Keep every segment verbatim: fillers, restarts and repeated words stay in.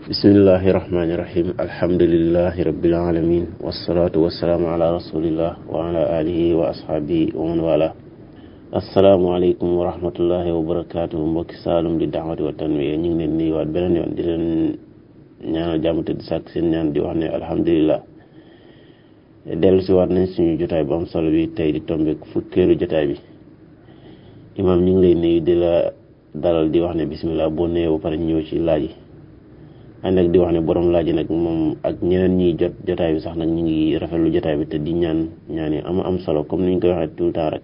bismillahi rahmaani rahim alhamdulillahi rabbil alamin wasalaatu wasalaamu ala rasulillah wa ala alihi wa ashaabihi wa man wala asalaamaaleykum wa rahmatullahi wa barakaatu mbokki Saalum di daawati wa tanwiya ñu ngi leen nuyuwaat beneen yoon di leen ñaanal jàmm te di sàkk seen ñaan di wax ne alhamdulillah dellu si waat nañ suñu jotaay bu am solo bi tey di tombeek fukkeelu jotaay bi imaam ñu ngi lay nuyu di la dalal di wax ne bismillah boo nuyoo ba pare ñëw ci laaj yi ànd ak di wax ne borom laaj yi nag moom ak ñeneen ñiy jot jotaay bi sax nag ñu ngi rafetlu jotaay bi te di ñaan ñaan yi am am solo comme ni ñu koy waxee tout le temps rek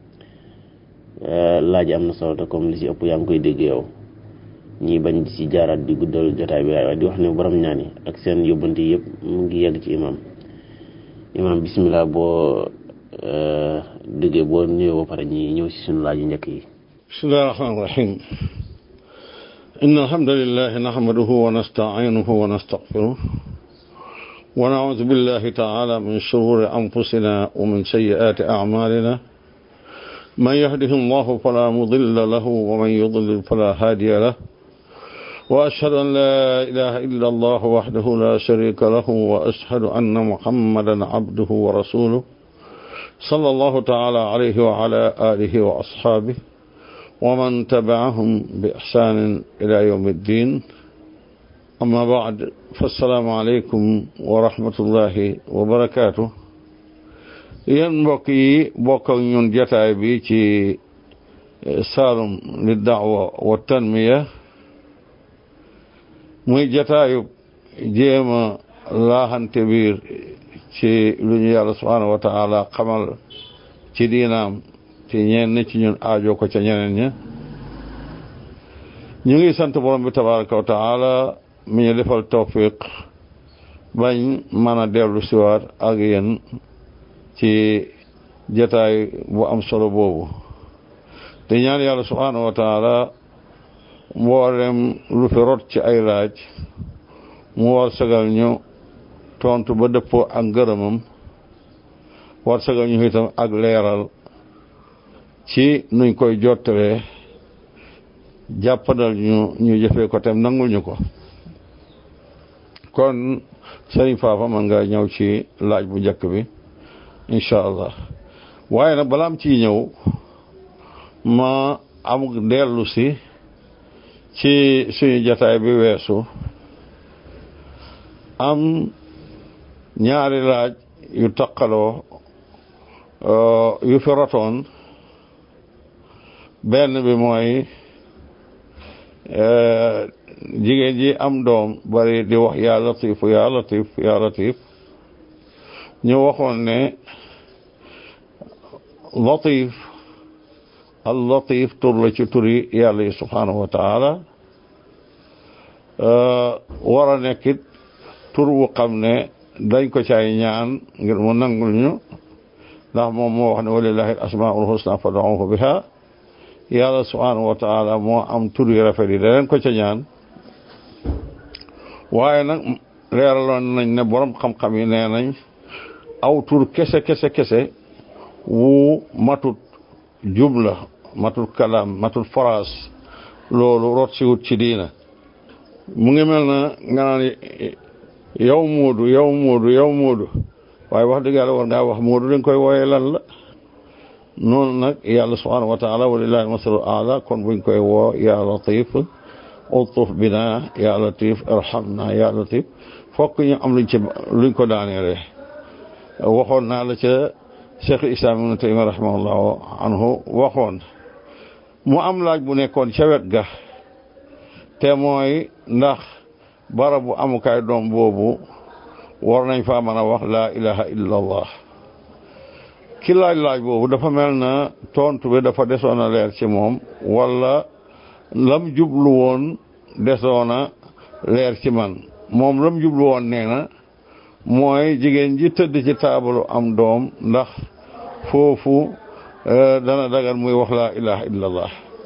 laaj yi am na solo te comme li si ëpp yaa ngi koy dégg yow ñii bañ di si jaaraat di guddal jotaay bi waaye di wax ne borom ñaan yi ak seen yóbbante yëpp mu ngi yegg ci imaam imaam bismillah boo déggee boo nuyoo ba pare ñi ñëw si suñu laaj yu njëkk yi. bismillahi rahmaani rahim. إن الحمد لله نحمده ونستعينه ونستغفره ونعوذ بالله تعالى من شرور أنفسنا ومن سيئات أعمالنا من يهده الله فلا مضل له ومن يضلل فلا هادي له وأشهد أن لا إله إلا الله وحده لا شريك له وأشهد أن محمدا عبده ورسوله صلى الله تعالى عليه وعلى آله وأصحابه ومن تبعهم بإحسان إلى يوم الدين أما بعد فالسلام عليكم ورحمة الله وبركاته yéen mbokk yi bokk ak ñun jotaay bi ci Saalum li da'wa wa tanmiya muy jotaayu jéem a laaxante biir ci lu ñu yàlla subhaanahu wa taala xamal ci diinaam ci ñenn ci ñun aajo ko ca ñeneen ña ñu ngi sant borom bi tabaraka wa taala mi ñu defal tawfiq bañ mën a dellu siwaat ak yéen ci jataay bu am solo boobu te ñaan yàlla subhaanahu wa taala mboolem lu fi rot ci ay laaj mu war sagal ñu tontu ba dëppoo ak ngërëmam war sagal ñu itam ak leeral ci nuñ koy jottalee jàppandal ñu ñu jëfee ko tem nangul ñu ko kon sëriñ Fafa man nga ñëw ci laaj bu njëkk bi incha allah waaye nag balaam ciy ñëw ma am dellu si ci suñu jataay bi weesu am ñaari laaj yu taqaloo yu fi rotoon benn bi mooy jigéen ji am doom bari di wax yaa latifu yaa latif yaa latif ñu waxoon ne latif al latif tur la ci turi yàlla yi subhaanahu wa taala war a nekkit tur wu xam ne dañ ko caay ñaan ngir mu nangul ñu ndax moom moo wax ne walillahi al asmaul husna fad'uhu biha yàlla subhaanahu wa taala moo am tur yu rafet yi da leen ko ca ñaan waaye nag leeraloon nañ ne borom xam-xam yi nee nañ aw tur kese kese kese wu matut jumla matut kalaam matut phrase loolu rot si wut ci diina mu ngi mel na nga naan yow Moodu yow Moodu yow Moodu waaye wax dëgg yàlla war ngaa wax Moodu dañ koy wooyee lan la noonu nag yàlla subhaanahu wa taala walillahi masalu ala kon buñ koy woo ya latif ultuf bina ya latif irhamna ya latif fokk ñu am luñ ci luñ ko daaneele waxoon naa la ca cheikh islam ibn taymiya rahimahullahu anhu waxoon mu am laaj bu nekkoon ca wet ga te mooy ndax barabu amukaay doom boobu war nañ faa mën a wax laa ilaha illa allah ki laaj laaj boobu dafa mel na tontu bi dafa desoon a leer ci moom wala lam jublu woon desoon a leer ci man moom lam jublu woon nee na mooy jigéen ji tëdd ci taabalu am doom ndax foofu dana dagan muy wax laa ilaha illa allah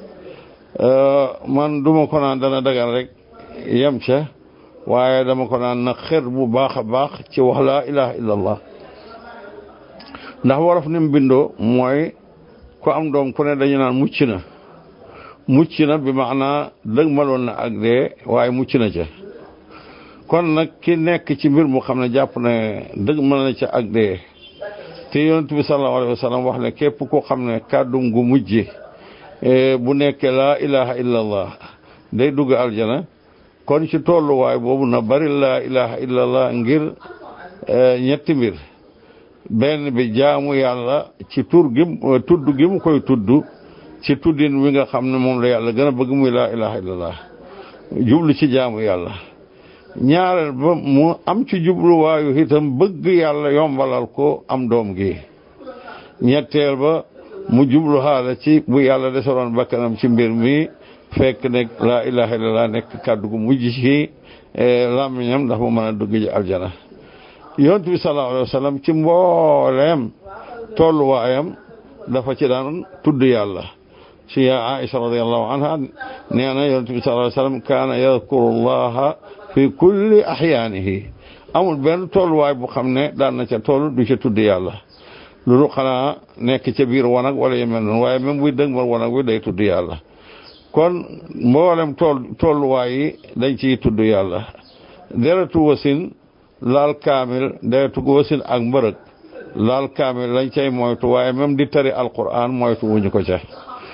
man duma ko naan dana dagan rek yem ca waaye dama ko naan na xër bu baax a baax ci wax laa ilaha illa allah ndax wolof ni mu bindoo mooy ku am doom ku ne dañu naan mucc na mucc na bi maanaa dëgg maloon na ak dee waaye mucc na ca kon nag ki nekk ci mbir mu xam ne jàpp ne dëgg mën na ca ak dee te yonent bi sallallahu alayhi wa sallam wax ne képp koo xam ne kàddum gu mujj bu nekkee laa ilaha illallah day dugg aljana kon ci tolluwaay boobu na bari laa ilaha illallah ngir ñetti mbir benn bi jaamu yàlla ci tur gi tudd gi mu koy tudd ci tuddin wi nga xam ne moom la yàlla gën a bëgg muy laa ilaha illallah jublu ci jaamu yàlla ñaareel ba mu am ci jubluwaayu itam bëgg yàlla yombalal ko am doom gi ñetteel ba mu jublu xaala ci bu yàlla desaroon bakkanam ci mbir mi fekk ne laa ilaha illallah nekk kàddu gu mujj ci làmmiñam ndax mu mën a dugg ji aljana yonent bi sallallahu alayhi wa sallam ci mbooleem tolluwaayam dafa ci daan tudd yàlla ci yaa Aïcha radiyallahu anha nee na yonent bi sallallahu alayhi wa sallam kaana yadkuru llaha fi kulli ahyaanihi amul benn tolluwaay bu xam ne daan na ca toll du ca tudd yàlla loolu xanaa nekk ca biir wanag wala yu mel noonu waaye même buy dëgg ma wanag wi day tudd yàlla kon mboolem tool tolluwaay yi dañ ciy tudd yàlla deretu wasin laal kaamil deretu wasin ak mbërëg laal kaamil lañ cay moytu waaye même di tari alquran moytu wuñu ko ca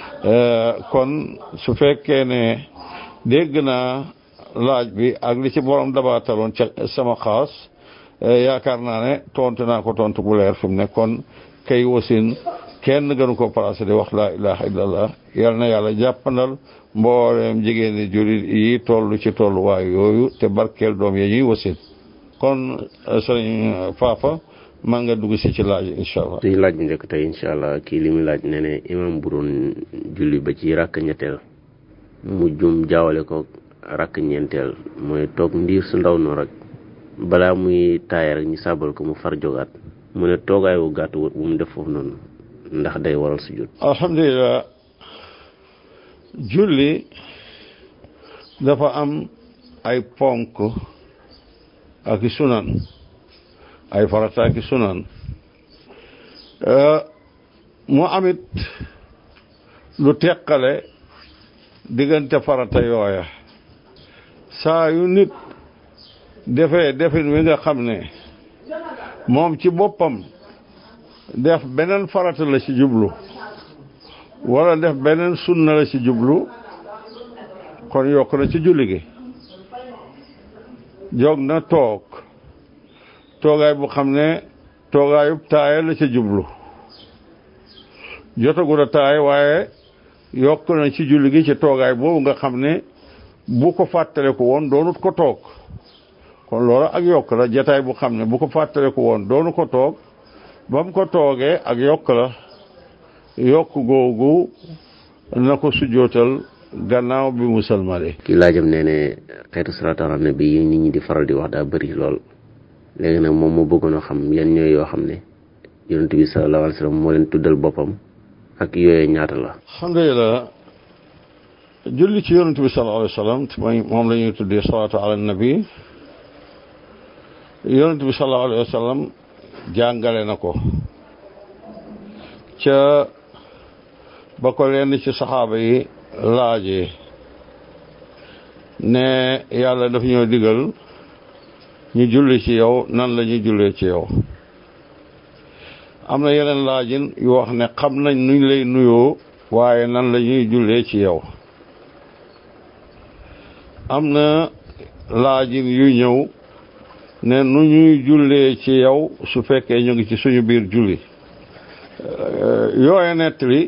kon su fekkee ne dégg naa laaj bi ak li ci borom dabaataloon ca sama xaas yaakaar naa ne tontu naa ko tontu bu leer fi mu ne kon kay wasin kenn gënu ko placé di wax laa ilaha illallah yal na yàlla jàppandal mbooleem jigéen ñi jullit yi toll ci tolluwaay yooyu te barkeel doom ya ñuy wasin kon sëriñ Fafa maa nga dugg si ci laaj incha allah. suñu laaj bi njëkk tey incha allah kii li muy laaj ne ne imam bu doon julli ba ci rakk ñetteel mu jum jaawale ko rakk ñeenteel mooy toog ndiir su ndaw noonu rek balaa muy taaya rek ñu sàbbal ko mu far jogaat mu ne toogaay wu gàtt bu mu def foofu noonu ndax day waral sujud. alhamdulilah julli dafa am ay ponk ak i sunan ay farata ak i sunan mu amit lu teqale diggante farata yooya saa yu nit defee defin wi nga xam ne moom ci boppam def beneen farata la ci jublu wala def beneen sunna la ci jublu kon yokk na ci julli gi jóg na toog toogaay bu xam ne toogaayub taaya la ci jublu jotagul a taay waaye yokk na ci julli gi ci toogaay boobu nga xam ne bu ko fàttale ko woon doonut ko toog kon loolu ak yokk la jataay bu xam ne bu ko fàttale ko woon doonu ko toog ba mu ko toogee ak yokk la yokk googu na ko sujjootal gannaaw bi mu salmale. ki laajam nee ne xeetu salaatu ala nabi yi nit ñi di faral di wax daa bëri lool léegi nag moom mu bëggoon a xam yan ñooy yoo xam ne yonent bi sallallahu alayhi wa sallam moo leen tuddal boppam ak yooyee ñaata la. alhamdulilah julli ci yonent bi sallallahu alayhi wa sallam mooy moom la ñuy tuddee salaatu ala nabi yonent bi sallallahu alayhi wa sallam jàngale na ko ca ba ko leen ci saxaaba yi laajee ne yàlla daf ñoo digal ñu julli ci yow nan la ñuy jullee ci yow am na yeneen laajin yu wax ne xam nañ nuñ lay nuyoo waaye nan la ñuy jullee ci yow am na laajin yu ñëw ne nu ñuy jullee ci yow su fekkee ñu ngi ci suñu biir julli yooye nettali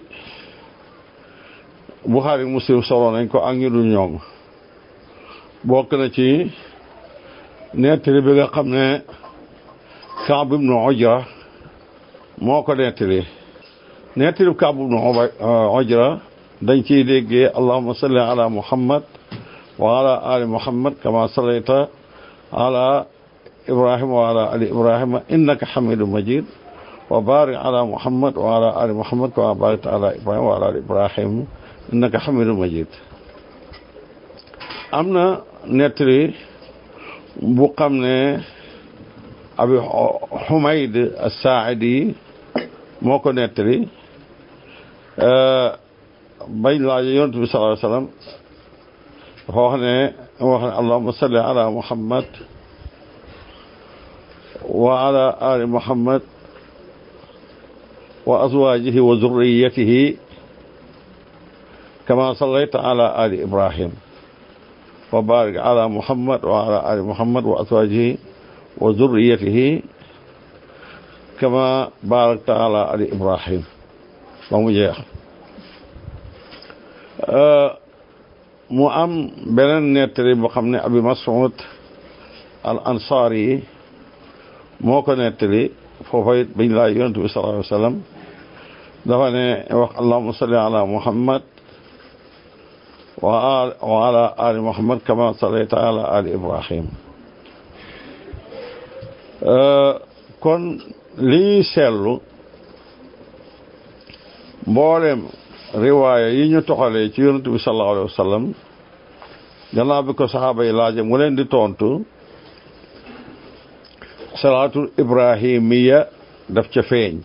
Buxaari Muslim solo nañ ko ak ñu dul ñoom bokk na ci nettali bi nga xam ne Kaab ibnu Ujra moo ko nettali nettali Kaab ibnu Ujra dañ ciy déggee allahumma salli ala muhammad wa ala ali muhammad kama sallayta ala ibrahima wa ala ali ibrahima innaka hamidun majid wa barik ala muhammad wa ala ali muhammad kama barakta ala ibrahima wa ala ali ibrahima innaka hamidun majid am na nettali bu xam ne abi Humayd as-Saaidi moo ko nettali bañ laaj yonent bi sallallahu alayhi wa sallam dafa wax ne wax ne allahumma salli ala muhammad وعلى آل محمد وأزواجه وذريته كما صليت على آل إبراهيم وبارك على محمد وعلى آل محمد وأزواجه وذريته كما باركت على آل إبراهيم ومجيح mu am beneen nettali boo xam ne Abi Mas'ud al Ansari moo ko nettali foofa it bañ laa yonent bi sallallahu alayhi wa sallam dafa ne wax allahumma salli ala muhammad wa ala ali muhammad kama sallayta ala ali ibrahim kon li ñuy seetlu mboolem riwaaya yi ñu toxalee ci yonent bi sallallahu alayhi wa sallam gannaaw bi ko saxaaba yi laaje mu leen di tontu salaatul ibrahimiya daf ca feeñ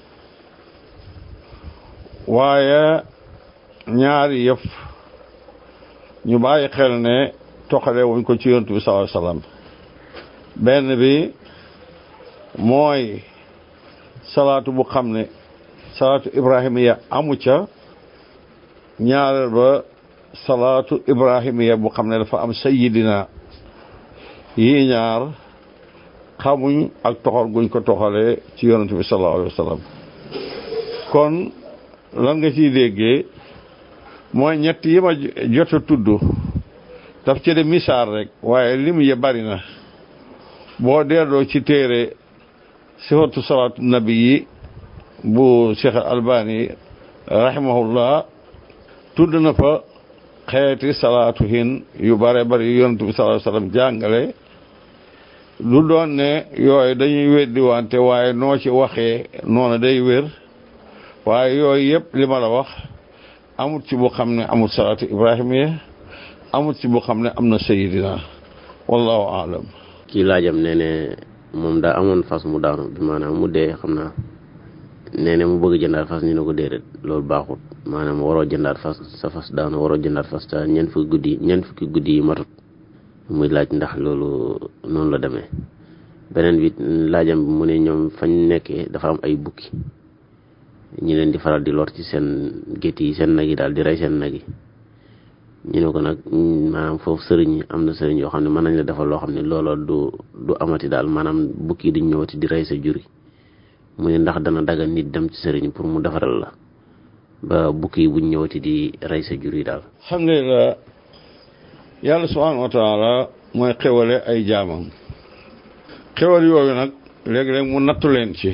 waaye ñaari yëf ñu bàyyi xel ne toxalee wuñ ko ci yonent bi sallallahu alayhi wa sallam benn bi mooy salaatu bu xam ne salaatu ibrahimiya amu ca ñaareel ba salaatu ibrahimiya bu xam ne dafa am sayyidina yi ñaar xamuñ ak toxal guñ ko toxalee ci yonent bi sallallahu alayhi wa sallam kon lan nga ciy déggee mooy ñett yi ma jot a tudd daf ci de misaal rek waaye lim ya bari na boo delloo ci téere sifatu salaatu nabi yi bu Cheikh Albani rahimahullah tudd na fa xeeti salaatu hin yu bare bari yonent bi sallallahu alayhi wa sallam jàngale lu doon ne yooyu dañuy weddi wante waaye noo ci waxee noonu day wér waaye yooyu yëpp li ma la wax amut ci bu xam ne amut salaatu ibrahimiya amut ci bu xam ne am na sayidina wallahu aalam kii laajam nee ne moom daa amoon fas mu daanu bi maanaam mu dee xam naa nee ne mu bëgg jëndaat fas ñu ne ko déedéet loolu baaxut maanaam waroo jëndaat fas sa fas daanu waroo jëndaat fas ta ñeent fukki guddi ñeent fukki guddi yi matut muy laaj ndax loolu noonu la demee beneen bi laajam bi mu ne ñoom fañ nekkee dafa am ay bukki ñi leen di faral di lor ci seen gétt yi seen nag yi daal di rey seen nag yi ñu ne ko nag maanaam foofu sëriñ am na sëriñ yoo xam ne mën nañ la defal loo xam ne loola du du amati daal maanaam bukki yi duñ ñëwati di rey sa juri mu ne ndax dana dagal nit dem ci sëriñ pour mu defaral la ba bukki yi buñ ñëwati di rey sa jur yi daal. alhamdulilah yàlla subhanahu wa taala mooy xewale ay jaamam xewal yooyu nag léeg-léeg mu nattu leen ci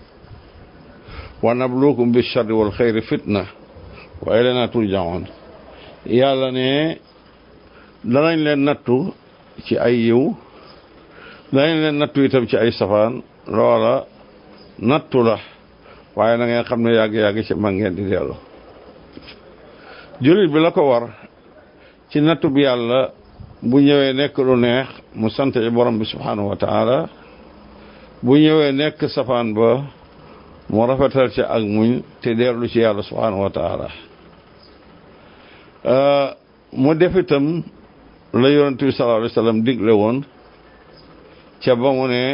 wa nabluukum bi sharri wal xayri fitna wa ilayna turjaun yàlla ne danañ leen nattu ci ay yiw danañ leen nattu itam ci ay safaan loola nattu la waaye na ngeen xam ne yàgg-yàgg ci mag ngeen di dellu jullit bi la ko war ci nattu bi yàlla bu ñëwee nekk lu neex mu sant ci borom bi subhanahu wa taala bu ñëwee nekk safaan ba mu rafetal ci ak muñ te dellu ci yàlla subhanahu wa taala mu def itam la yonent bi sallallahu alayhi wa sallam digle woon ca ba mu ne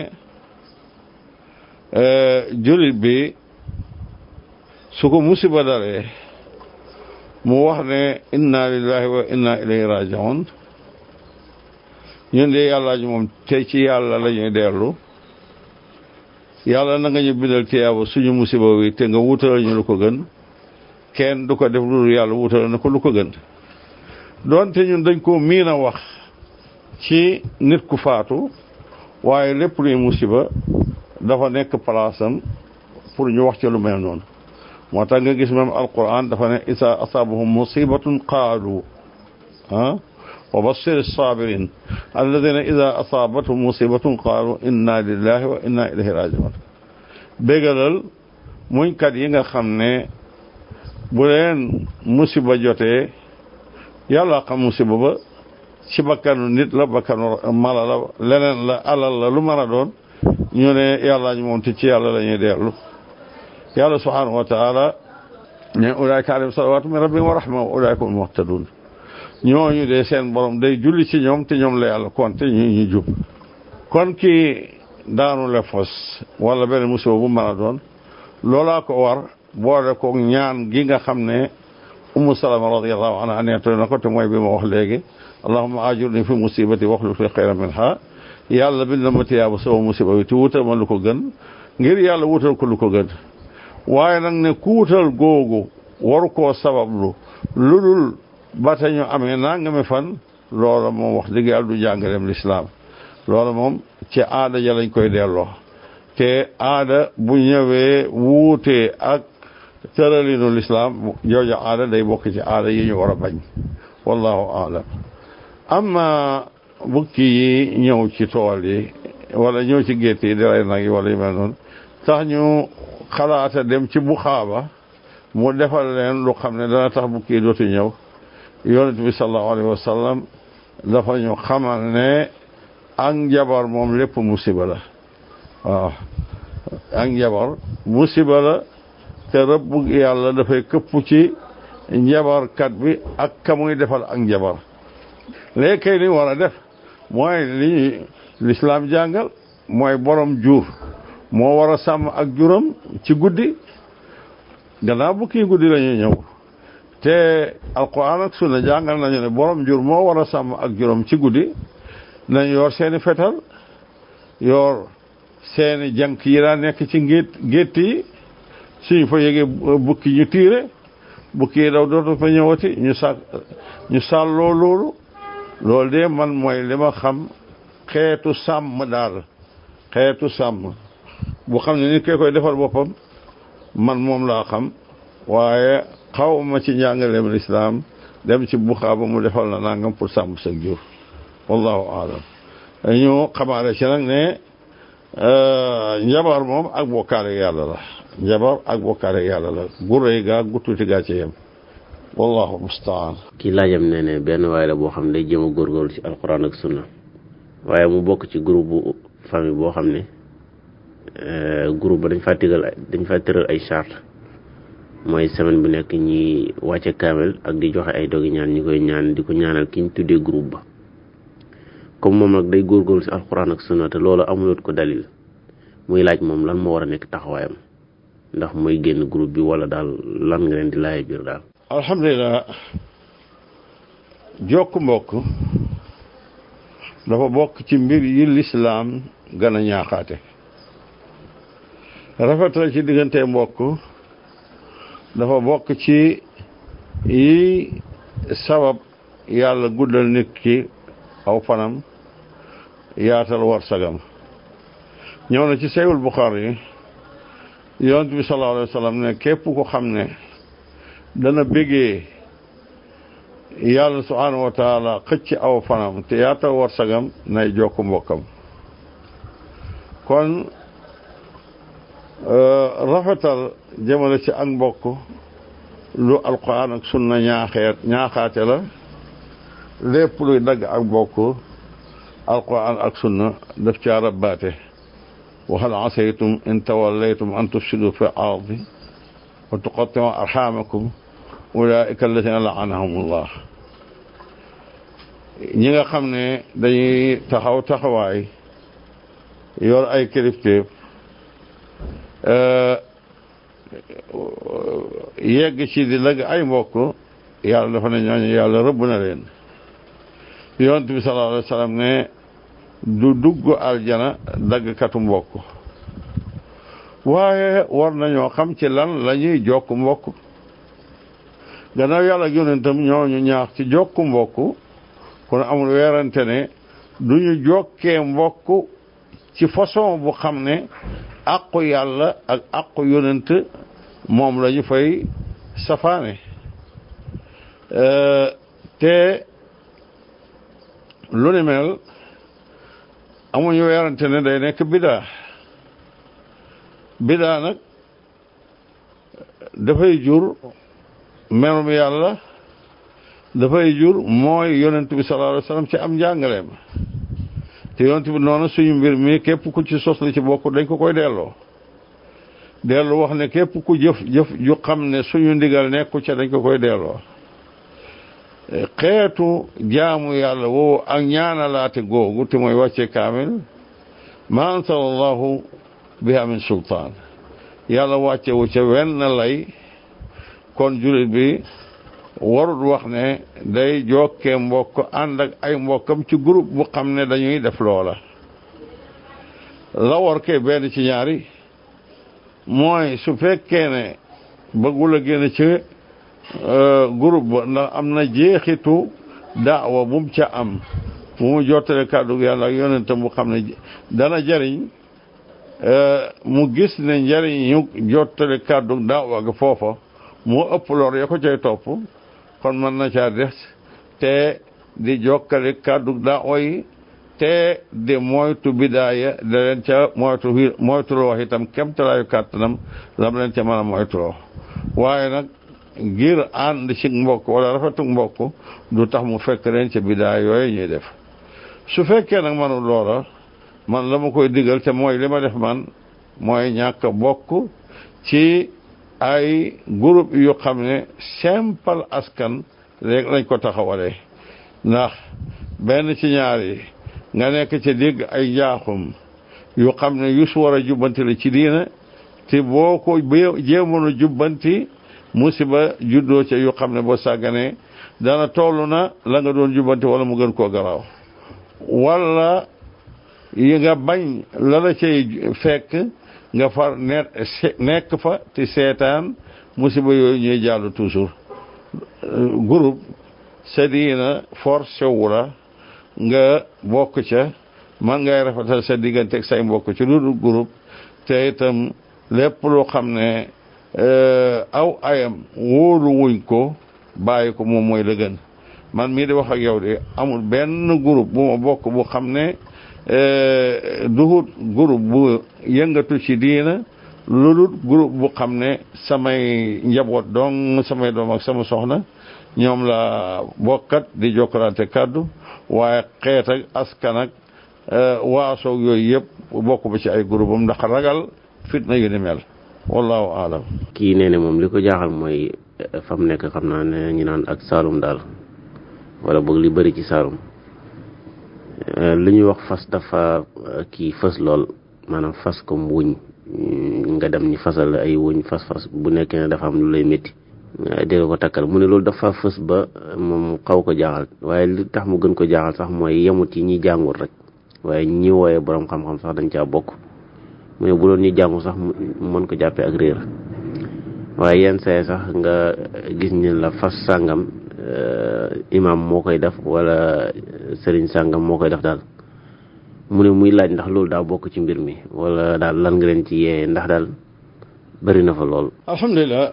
jullit bi su ko musiba dalee mu wax ne inna lillahi wa inna ilayhi raji'un ñun de yàlla ji moom te ci yàlla la ñuy dellu yàlla na nga ñu bindal tiyaaba suñu musiba wi te nga wutal ñu lu ko gën kenn du ko def lu yàlla wutal na ko lu ko gën doonte ñun dañ ko miin a wax ci nit ku faatu waaye lépp luy musiba dafa nekk palaasam pour ñu wax ci lu mel noonu moo tax nga gis même alquran dafa ne isa asabahum musibatun qaalu ah wa bassir as-sabirin alladina ida asabathum musibatun qaalu inna lillahi wa inna ilayhi rajiun bégalal muñkat yi nga xam ne bu leen musiba jotee yàlla xam musiba ba ci bakkanu nit la bakkanu mala la leneen la alal la lu mën a doon ñu ne yàlla ñu moom te ci yàlla la ñuy dellu yàlla subhanahu wa taala ne ulaayka alayhim salawaatu min rabbihim wa rahma wa ulaayka hum muhtadun ñooñu de seen borom day julli ci ñoom te ñoom la yàlla konte ñu ñu jub kon kii daanu le fos wala benn musiba bu mën a doon loolaa ko war boole ko ñaan gi nga xam ne Ummu Salama radiyallahu anha nettali na ko te mooy bi ma wax léegi allahumma ajurni fi musibati waxluf li xayran minha yàlla bind na ma tiyaaba sama musiba bi te wutal ma lu ko gën ngir yàlla wutal ko lu ko gën waaye nag ne ku wutal googu waru koo sabablu lu dul ba te ñu amee nangami fan loola moom wax dëgg yàlla du jàngaleem lislaam loola moom ci aada ja lañ koy delloo te aada bu ñëwee wuutee ak tëralinu lislaam jooja aada day bokk ci aada yi ñu war a bañ wallahu aalam amma bukki yi ñëw ci tool yi wala ñëw ci gétt yi di rey nag yi wala yu mel noonu tax ñu xalaata dem ci bu xaaba mu defal leen lu xam ne dana tax bukki yi dootu ñëw yonent bi sallallahu alayhi wa sallam dafa ñu xamal ne ak njabar moom lépp musiba la waaw ak njabar musiba la te rëbb yàlla dafay këpp ci njabarkat bi ak ka muy defal ak njabar léegi kay li war a def mooy li lislaam jàngal mooy borom jur moo war a sàmm ak juram ci guddi gannaaw bu kii guddi la ñuy ñëw te alquran ak sunna jàngal nañu ne borom jur moo war a sàmm ak juram ci guddi nañ yor seeni fetal yor seeni jànk yi daa nekk ci gétt gétt yi suñu fa yégee bukki ñu tiire bukki yi daw dootu fa ñëwati ñu sa ñu sàlloo loolu loolu de man mooy li ma xam xeetu sàmm daal xeetu sàmm bu xam ne nit kee koy defal boppam man moom laa xam waaye xaw ma ci njàngaleem lislaam dem ci buxaa ba mu defal na nangam pour sàmm sa jur wallahu aalam ñu xamaale ci nag ne njabar moom ak bokkaale yàlla la njabar ak bokkaale yàlla la gu rëy gaa gu tuuti gaa ci yem wallahu mustaan kii laajam ne ne benn waay la boo xam ne day jéem a góorgóorlu ci alquran ak sunna waaye mu bokk ci groupe bu famille boo xam ne groupe ba dañ faa tëral dañ faa tëral ay charte mooy semaine bu nekk ñi wàcce kaamel ak di joxe ay dogi ñaan ñi koy ñaan di ko ñaanal ki ñu tuddee groupe ba comme moom nag day góorgóorlu ci alquran ak sunna te loolu amuloot ko dalil muy laaj moom lan moo war a nekk taxawaayam ndax mooy génn groupe bi wala daal lan nga leen di laaj biir daal. alhamdulilah jokk mbokk dafa bokk ci mbir yi lislaam gën a ñaaxaate rafetal ci diggante mbokk dafa bokk ci yi sabab yàlla guddal nit ki aw fanam yaatal war sagam ñëw na ci Sahihul Bukhari yi yonent bi sallallahu alayhi wa sallam ne képp ko xam ne dana bégee yàlla subhanahu wa taala xëcc aw fanam te yaatal war sagam nay jokk mbokkam kon rafetal jëmale ci ak mbokk lu alquran ak sunna ñaaxeet ñaaxaate la lépp luy dagg ak mbokk alquran ak sunna daf caa rabbaate wa hal asaytum in tawallaytum an tufsidu fi ardi wa tuqatti'u arhamakum ulaika alladhina la'anahumullah ñi nga xam ne dañuy taxaw taxawaay yor ay kilifteef yegg ci di lëgg ay mbokk yàlla dafa ne ñooñu yàlla rëbb na leen yonent bi sallallahu alayhi wa sallam ne du dugg aljana daggkatu mbokk waaye war nañoo xam ci lan la ñuy jokk mbokk gannaaw yàlla ak yonentam ñooñu ñaax ci jokk mbokk kon amul weerante ne du ñu jokkee mbokk ci façon bu xam ne àqu yàlla ak àqu yonent moom la ñu fay safaane te lu ni mel amuñu weerante ne day nekk bidaa bidaa nag dafay jur merum yàlla dafay jur mooy yonent bi sallallahu alayhi wa sallam ci am njàngaleem te yonent bi noonu suñu mbir mi képp ku ci sos li ci bokk dañ ko koy delloo dellu wax ne képp ku jëf jëf ju xam ne suñu ndigal nekku ca dañ ko koy delloo xeetu jaamu yàlla woowu ak ñaanalaate googu te mooy wàcce kaamil ma ansala allahu biha min sultaan yàlla wàccewu ca wenn lay kon jullit bi warut wax ne day jokkee mbokk ànd ak ay mbokkam ci groupe bu xam ne dañuy def loola la war kee benn ci ñaari mooy su fekkee ne bëggul a génn ci groupe ba ndax am na jeexitu daawa bu mu ca am bu mu jottale kàddu yàlla ak yonentam bu xam ne dana jariñ mu gis ne njariñ ñu jottale kàddu daawa ga foofa moo ëpp lor ya ko cay topp kon mën na caa des te di jokkale kàddu daawa yi te di moytu bidaaya da leen ca moytu moytuloo itam kemtalaayu kàttanam lam leen ca mën a moytuloo waaye nag ngir ànd ci mbokk wala rafetu mbokk du tax mu fekk leen ca bidaaya yooyu ñuy def su fekkee nag manul loola man la ma koy digal te mooy li ma def man mooy ñàkk bokk ci ay groupe yu xam ne simple askan léegi lañ ko taxawalee ndax benn ci ñaar yi nga nekk ca dégg ay njaaxum yu xam ne yu su war a jubbanti la ci diina te boo ko jéemoon a jubbanti musiba juddoo ca yu xam ne boo sàgganee dana toll na la nga doon jubbanti wala mu gën koo garaaw wala yi nga bañ la la cay fekk nga far net nekk fa te seetaan musiba yooyu ñuy jàll toujours groupe sa diina forcé wu la nga bokk ca man ngay rafetal sa diggante ak say mbokk ci lu dul groupe te itam lépp loo xam ne aw ayam wóolu wuñ ko bàyyi ko moom mooy la gën man mii di wax ak yow de amul benn groupe bu ma bokk bu xam ne duhut groupe bu yëngatu ci diina lu dul groupe bu xam ne samay njaboot dong samay doom ak sama soxna ñoom la bokkat di jokkalante kàddu waaye xeet ak askan ak waasoog yooyu yëpp bokk ba ci ay groupe am ndax ragal fitna yu ni mel wallahu aalam. kii nee ne moom li ko jaaxal mooy fa mu nekk xam naa ne ñu naan ak Saalum daal wala boog li bëri ci Saalum li ñuy wax fas dafa kii fas lool maanaam fas comme wuñ nga dem ñi fasal ay wuñ fas fas bu nekkee ne dafa am lu lay métti dégg ko takkal mu ne loolu dafa fës ba moom xaw ko jaaxal waaye li tax mu gën ko jaaxal sax mooy yemut ci ñi jàngul rek waaye ñi wooyee borom xam-xam sax dañ caa bokk mu ne bu doon ñi jàngul sax mën ko jàppee ak réer waaye yenn saa sax nga gis ni la fas sàngam imam moo koy def wala sëriñ sàngam moo koy def daal mu ne muy laaj ndax loolu daa bokk ci mbir mi wala daal lan nga leen ci yee ndax daal bëri na fa lool. alhamdulilah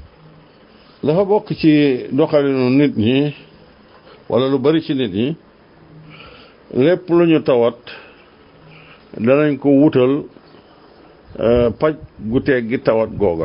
dafa bokk ci doxalinu nit ñi wala lu bari ci nit ñi lépp lu ñu tawat danañ ko wutal paj gu teeg gi tawat googa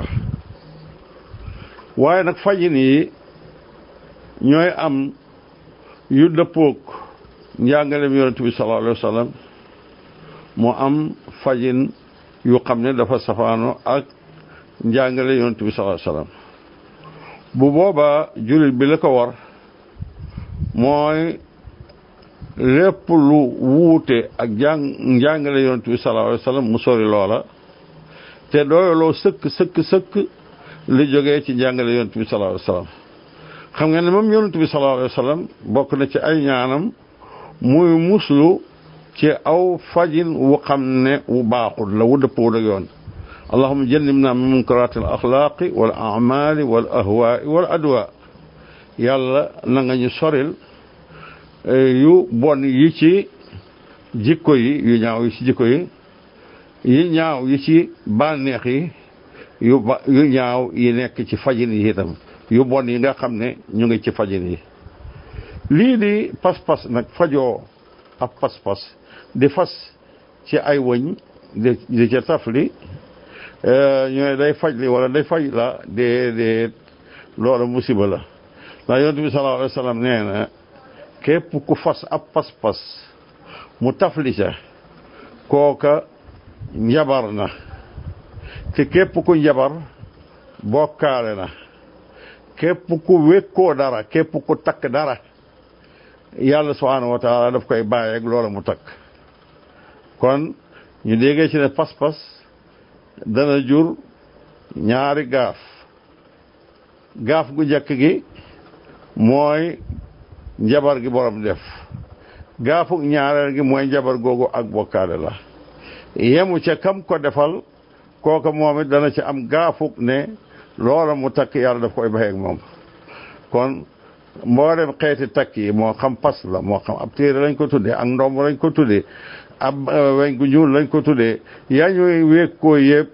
waaye nag fajin yi ñooy am yu dëppoog njàngaleem yonent bi sallallahu alayhi wa sallam moo am fajin yu xam ne dafa safaano ak njàngale yonent bi sallallahu alayhi wa sallam bu boobaa jullit bi la ko war mooy lépp lu wuute ak jàng njàngale yonent bi sallallahu alayhi wa sallam mu sori loola te doyaloo sëkk sëkk sëkk li jógee ci njàngale yonent bi sallallahu alayhi wa sallam xam nga ne moom yonent bi sallallahu alayhi wa sallam bokk na ci ay ñaanam muy muslu ci aw fajin wu xam ne wu baaxul la wu dëppoo ak yoon allahumma jannibna min munkaraati al axlaaqi wal amali wal ahwaai wal adwa yàlla na nga ñu soril yu bon yi ci jikko yi yu ñaaw yi ci jikko yi yi ñaaw yi ci bànneex yi yu ba yu ñaaw yi nekk ci fajin yi itam yu bon yi nga xam ne ñu ngi ci fajin yi lii di pas-pas nag fajoo ab pas-pas di fas ci ay wëñ di di ca tafli ñooy day faj li wala day faj la déedéet loolu musiba la ndax yonent bi sallallahu alayhi wa sallam nee na képp ku fas ab pas-pas mu tafli ca kooka njabar na te képp ku njabar bokkaale na képp ku wékkoo dara képp ku takk dara yàlla subhanahu wa taala daf koy bàyyeeg loola mu takk kon ñu déggee ci ne pas-pas dana jur ñaari gaaf gaaf gu njëkk gi mooy njabar gi borom def gaafuk ñaareel gi mooy njabar googu ak bokkaale la yemu ca kam ko defal kooka moom it dana ci am gaafuk ne loola mu takk yàlla daf koy baxeeg moom kon mboolem xeeti takk yi moo xam pas la moo xam ab téere lañ ko tuddee ak ndomb lañ ko tuddee ab weñ gu ñuul lañ ko tuddee yaa ñuy wékkoo yëpp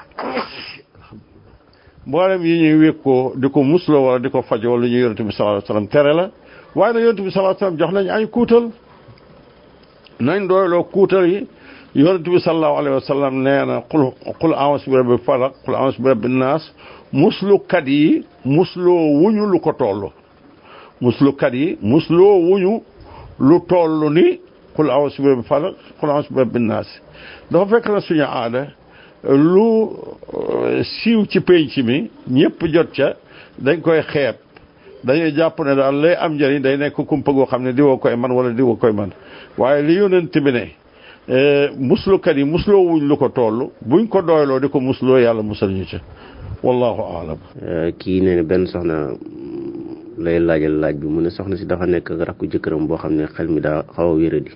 mboolem yi ñuy wékkoo di ko musloo wala di ko fajoo lu ñu yonent bi sallallahu alayhi wasallam tere la waaye nag yonent bi sallallahu alayhi wasallam jox nañ ay kuutal nañ doyloo kuutal yi yonent bi sallallahu alayhi wasallam nee na qul qul a'uuzu bi rabbil falaq qul a'uuzu bi rabbin naas muslukat yi musloo wuñu lu ko toll muslukat yi musloo wuñu lu toll ni qul a'uuzu bi rabbil falaq qul a'uuzu bi rabbin naas dafa fekk na suñu aada lu siiw ci penc mi ñëpp jot ca dañ koy xeeb dañuy jàpp ne daal lay am njëriñ day nekk kumpa goo xam ne diwoo koy man wala diwoo koy man waaye li yonent bi ne muslukat yi musloo wuñ lu ko toll buñ ko doyloo di ko musloo yàlla musal ñu ca wallahu aalam. kii nee na benn soxna lay laajal laaj bi mu ne soxna si dafa nekk ak rakku jëkkëram boo xam ne xel mi daa xaw a wéradi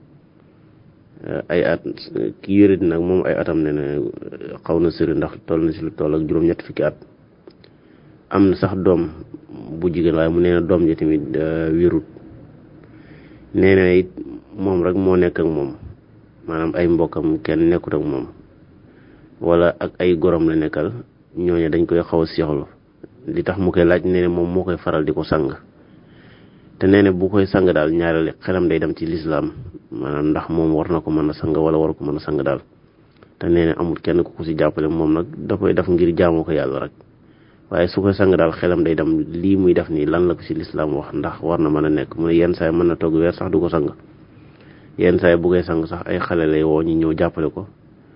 ay at ki wéradi nag moom ay atam ne na xaw na sëri ndax toll na si lu toll ak juróom-ñett fukki at am na sax doom bu jigéen waaye mu nee na doom ji tamit wérut nee na it moom rek moo nekk ak moom maanaam ay mbokkam kenn nekkut ak moom wala ak ay gorom la nekkal ñooñu dañ koy xaw a seexlu li tax mu koy laaj nee na moom moo koy faral di ko sang te nee na bu koy sang daal ñaareel xelam day dem ci lislaam maanaam ndax moom war na ko mën a sang wala war ko mën a sang daal te nee na amul kenn ku ko ci jàppale moom nag da koy def ngir jaamoo ko yàlla rek waaye su koy sang daal xelam day dem lii muy def nii lan la ko ci lislaam wax ndax war na mën a nekk mu ne yenn saa yi mën na toog weer sax du ko sang yenn saa yi bu koy sang sax ay xale lay woo ñu ñëw jàppale ko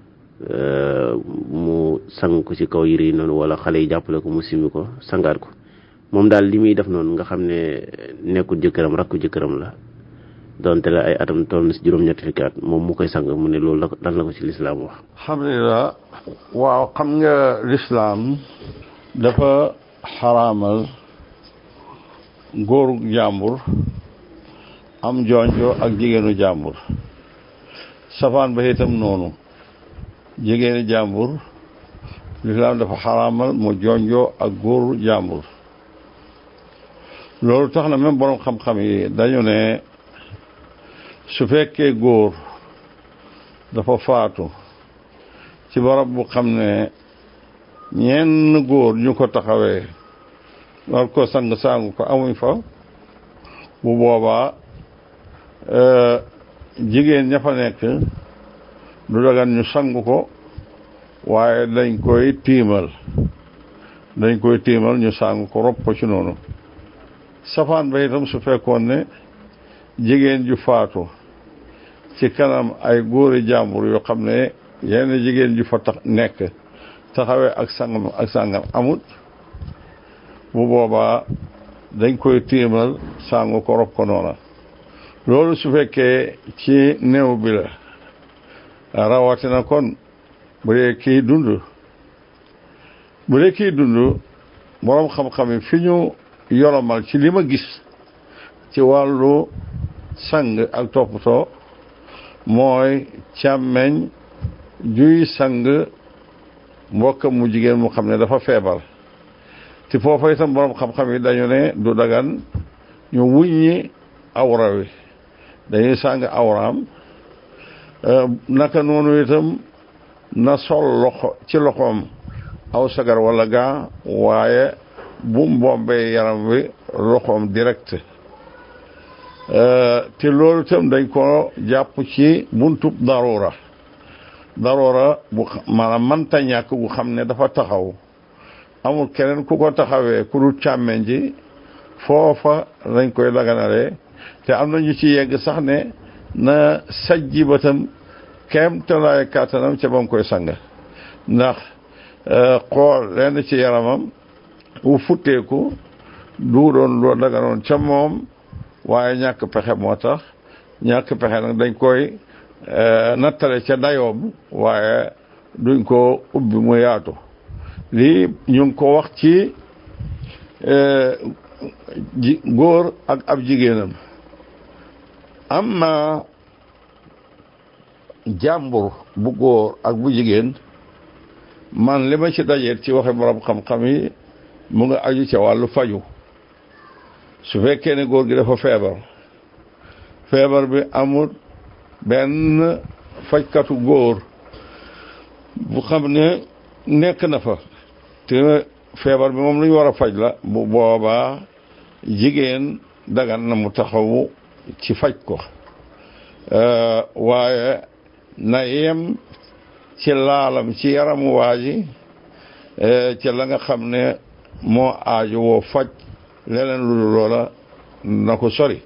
mu sang ko ci kaw yére yi noonu wala xale yi jàppale ko mu simi ko sangaat ko moom daal li muy def noonu nga xam ne nekkul jëkkëram rakku jëkkëram la donte la ay atam toll na ci juróom-ñetti fukki at moom mu koy sang mu ne loolu lan la ko ci lislaam wax. alhamdulilah waaw xam nga lislaam dafa xaraamal góoru jàmbur am jonjo ak jigéenu jàmbur safaan ba itam noonu jigéenu jàmbur lislaam dafa xaraamal mu jonjo ak góoru jàmbur loolu tax na même borom xam-xam yi dañu ne su fekkee góor dafa faatu ci barab bu xam ne ñenn góor ñu ko taxawee war ko sang sangu ko amuñ fa bu boobaa jigéen ña fa nekk du dagan ñu sangu ko waaye dañ koy tiimal dañ koy tiimal ñu sangu ko rob ko ci noonu safaan ba itam su fekkoon ne jigéen ju faatu ci kanam ay góori jàmbur yoo xam ne yenn jigéen ju fa tax nekk taxawee ak sangam ak sangam amut bu boobaa dañ koy tiimal sangu ko rob ko noona loolu su fekkee ci néew bi la rawatina kon bu dee kii dund bu dee kii dund boroom xam-xam yi fi ñu yolomal ci li ma gis ci wàllu sang ak toppatoo mooy càmmeñ juy sang mbokkam mu jigéen mu xam ne dafa feebar te foofa itam boroom xam-xam yi dañu ne du dagan ñu wuññi awra wi dañuy sang awraam naka noonu itam na sol loxo ci loxoom aw sagar wala gaa waaye bu mbombee yaram wi loxoom direct te loolu itam dañ ko jàpp ci buntub daruura daruura bu maanaam mënta ñàkk gu xam ne dafa taxaw amul keneen ku ko taxawee ku dul càmmeñ ji foofa lañ koy daganale te am na ñu ci yegg sax ne na sajji batam kem talaay kàttanam ca ba mu koy sang ndax xool lenn ci yaramam wu futteeku du doon loo daganoon ca moom waaye ñàkk pexe moo tax ñàkk pexe nag dañ koy nattale ca dayoom waaye duñ ko ubbi mu yaatu lii ñu ngi ko wax ci ji góor ak ab jigéenam amma jàmbur bu góor ak bu jigéen man li ma ci dajeet ci waxe borom xam-xam yi mu nga aju ca wàllu faju su fekkee ne góor gi dafa feebar feebar bi amul benn fajkatu góor bu xam ne nekk na fa te feebar bi moom lu ñu war a faj la bu boobaa jigéen dagan na mu taxawu ci faj ko waaye na yem ci laalam ci yaramu waa ji ci la nga xam ne moo aaju woo faj leneen lu dul loola na ko sori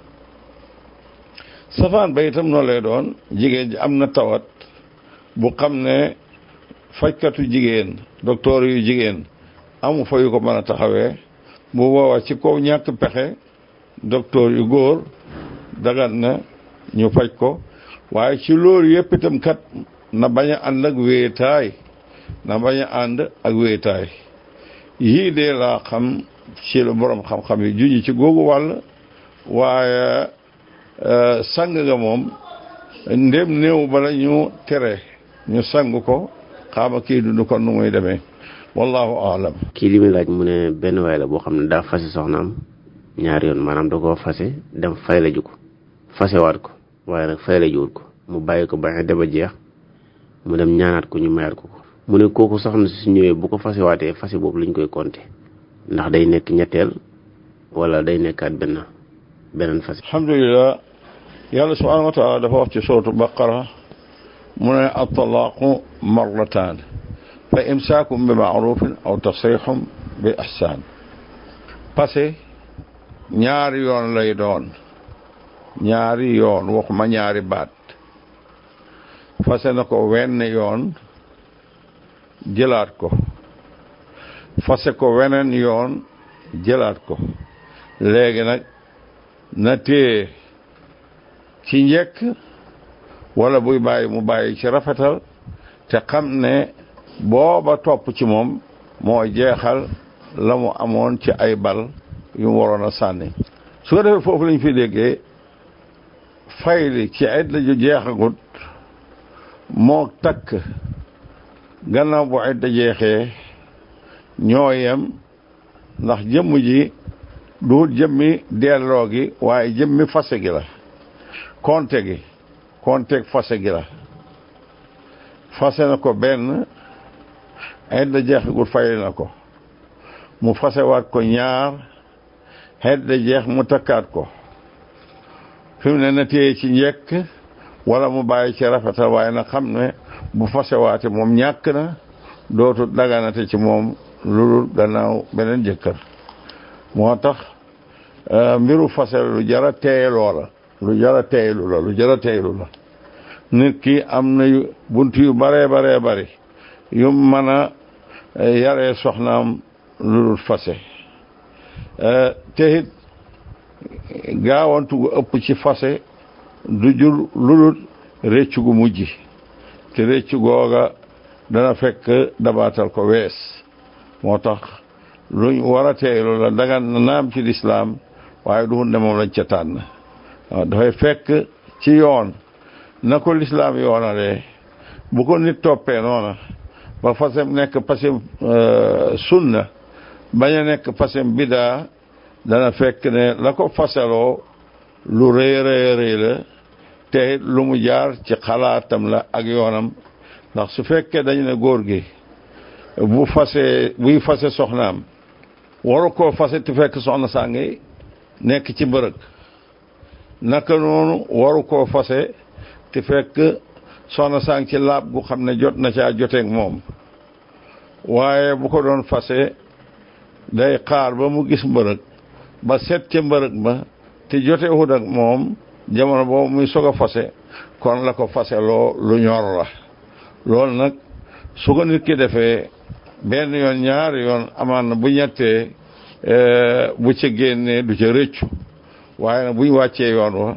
safaan ba itam noonu lay doon jigéen ji am na tawat bu xam ne fajkatu jigéen docteur yu jigéen amu fa yu ko mën a taxawee bu boobaa ci kaw ñàkk pexe docteur yu góor dagan na ñu faj ko waaye ci loolu yëpp itam kat na bañ a ànd ak wéetaay na bañ a ànd ak wéetaay yii de laa xam ci la borom xam-xam yi juñu ci googu wàll waaye sang nga moom ndem néew bala ñu tere ñu sang ko xaama kii dund kon nu muy demee wallahu aalam. kii li muy laaj mu ne benn waay la boo xam ne daa fase soxnaam ñaari yoon maanaam da koo fase dem fay la ju ko fasewaat ko waaye nag fay la juwut ko mu bàyyi ko ba deba jeex mu dem ñaanaat ko ñu mayaat ko ko mu ne kooku soxna si su ñëwee bu ko fasewaatee fase boobu lañ koy compter ndax day nekk ñetteel wala day nekkaat benn beneen fase. alhamdulilah yàlla subhanahu wa taala dafa wax ci suratu baqara mu ne at-talaaqu marratan fa imsaakum bi ma'rufin aw tasrihum bi ihsan passé ñaari yoon lay doon ñaari yoon waxuma ñaari baat fase na ko wenn yoon jëlaat ko fase ko weneen yoon jëlaat ko léegi nag na téye ci njëkk wala buy bàyyi mu bàyyi ci rafetal te xam ne booba topp ci moom moo jeexal la mu amoon ci ay bal yu mu waroon a sànni su ko defee foofu lañ fi déggee fayli ci idda ju jeexagut moo takk gannaaw bu idda jeexee ñoo yem ndax jëmm ji du jëmmi delloo gi waaye jëmmi fase gi la konte gi konteeg fase gi la fase na ko benn idda jeexagut fayli na ko mu fasewaat ko ñaar idda jeex mu takkaat ko fi mu ne na téye ci njëkk wala mu bàyyi ci rafetal waaye na xam ne bu fasewaate moom ñàkk na dootu daganate ci moom lu gannaaw beneen jëkkër moo tax mbiru fase lu jara teeyeloo la lu jara teeylu la lu jara teeylu la nit ki am na bunt yu baree baree bari yu mën a yaree soxnaam lu dul fase te it gaawantu gu ëpp ci fase du jur lu dul réccu gu mujj te réccu googa dana fekk dabaatal ko wees moo tax luñ war a teeylu la dagan na naam ci lislaam waaye du hunde moom lañ ca tànn waaw dafay fekk ci yoon na ko lislaam yoonalee bu ko nit toppee noona ba fasem nekk pasem sunna bañ a nekk fasem bidaa dana fekk ne la ko fasaloo lu rëy rëy rëy la te lu mu jaar ci xalaatam la ak yoonam ndax su fekkee dañu ne góor gi bu fase buy fase soxnaam waru koo fase te fekk soxna saa ngi nekk ci mbërëg naka noonu waru koo fase te fekk soxna saa ngi ci laab gu xam ne jot na caa joteeg moom waaye bu ko doon fase day xaar ba mu gis mbërëg ba set ca mbërëg ba te jote wut ak moom jamono boobu muy soog a fase kon la ko fase loo lu ñor la loolu nag su ko nit ki defee benn yoon ñaari yoon amaan na bu ñettee bu ca génnee du ca rëccu waaye nag buñ wàccee yoon wa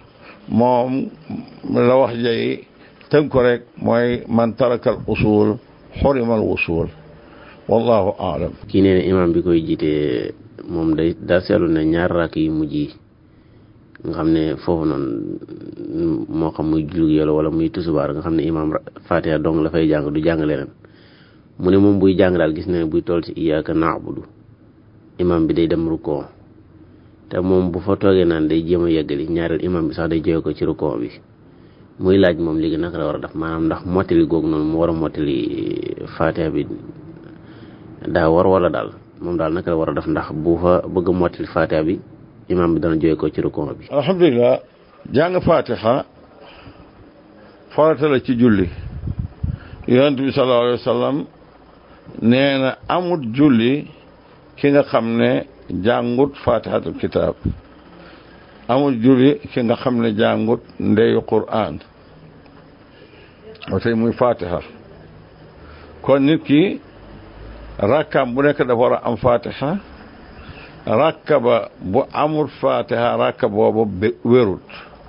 moom la wax jay tënk ko rek mooy man tarakal usul xurimal wusul wallahu aalam. kii nee na imam bi koy jiite moom day daa seetlu ne ñaar rakk yu mujj yi nga xam ne foofu noonu moo xam muy julli yàlla wala muy tusubaar nga xam ne imam Fatiha dong la fay jàng du jàng leneen mu ne moom buy jàng daal gis na ne buy toll ci iyyaka na'budu imam bi day dem rukkoo te moom bu fa toogee naan day jéem a yeggali ñaareel imam bi sax day jóge ko ci rukkoo bi muy laaj moom léegi naka la war a def maanaam ndax mottali googu noonu mu war a mottali Fatiha bi daa war wala daal moom daal naka la war a def ndax bu fa bëgg a mottali Fatiha bi imam bi dana jóge ko ci rukkoo bi. alhamdulilah jàng Fatiha farata la ci julli yonent bi sallallahu alayhi wa sallam nee na amut julli ki nga xam ne jàngut Fatihatul kitaab amut julli ki nga xam ne jàngut ndeyu Qur'an wa tey muy Fatiha kon nit ki rakkam bu nekk dafa war a am Fatiha rakka ba bu amul Fatiha rakka boobu wérut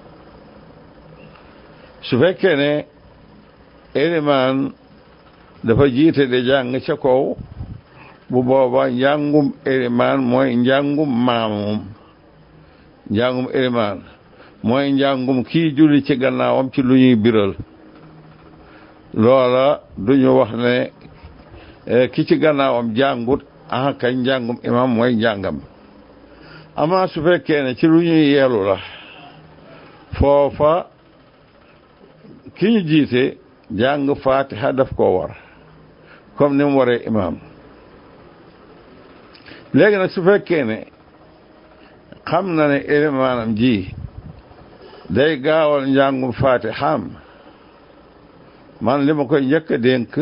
su fekkee ne élimaan dafa jiite de jàng ca kaw bu booba njàngum élimaan mooy njàngum maamum njàngum élimaan mooy njàngum kii julli ci gannaawam ci lu ñuy biral loola duñu wax ne ki ci gannaawam jàngut ah kañ njàngum imam mooy njàngam ama su fekkee ne ci lu ñuy yeelu la foofa ki ñu jiite jàng Fatiha daf koo war comme ni mu waree imam léegi nag su fekkee ne xam na ne élimaanam ji day gaawal njàngum Fatiham man li ma koy njëkk a dénk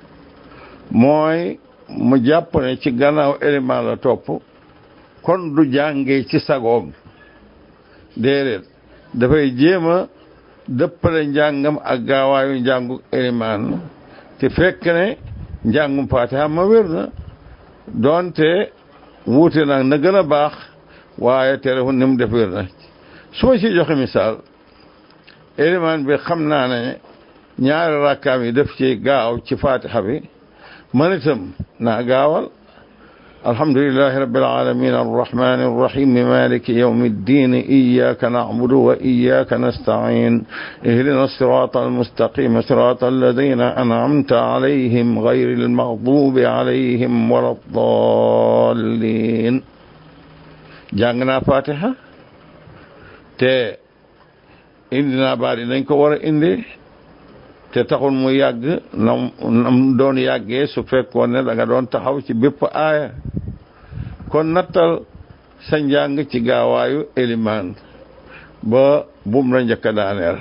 mooy mu jàpp ne ci gannaaw élimaan la topp kon du jàngee ci sagoom déedéet dafay jéem a dëppale njàngam ak gaawaayu njàngu élimaan te fekk ne njàngum Fatiha ma wér na doonte wuute nag na gën a baax waaye téléphone ni mu def wér na su ma ci joxe misaal élimaan bi xam naa ne ñaari rakkaam yi def ci gaaw ci Fatiha bi man itam naa gaawal alhamdulillahi rabbil alamin arrahmani arrahim maliki yawmi ddin iyyaka na'budu wa iyyaka nasta'in ihdina sirata almustaqim sirata alladhina an'amta alayhim ghayril maghdubi alayhim waladdallin jàng naa Fatiha te indi naa baat yi nañ ko war a indi te taxul mu yàgg nam nam doon yàggee su fekkoon ne da nga doon taxaw ci bépp aaya kon nattal sa njàng ci gaawaayu élimaan ba bum la njëkk a daaneel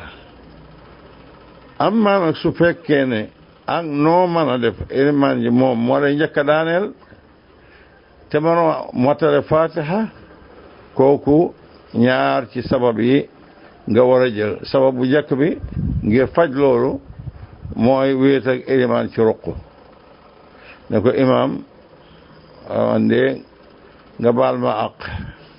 amma nag su fekkee ne ak noo mën a def élimaan ji moom moo lay njëkk a daaneel te mënoo motale Fatiha kooku ñaar ci sabab yi nga war a jël sabab bu njëkk bi ngir faj loolu mooy wéet ak élimaan ci ruq ne ko imaam wande nga baal ma àq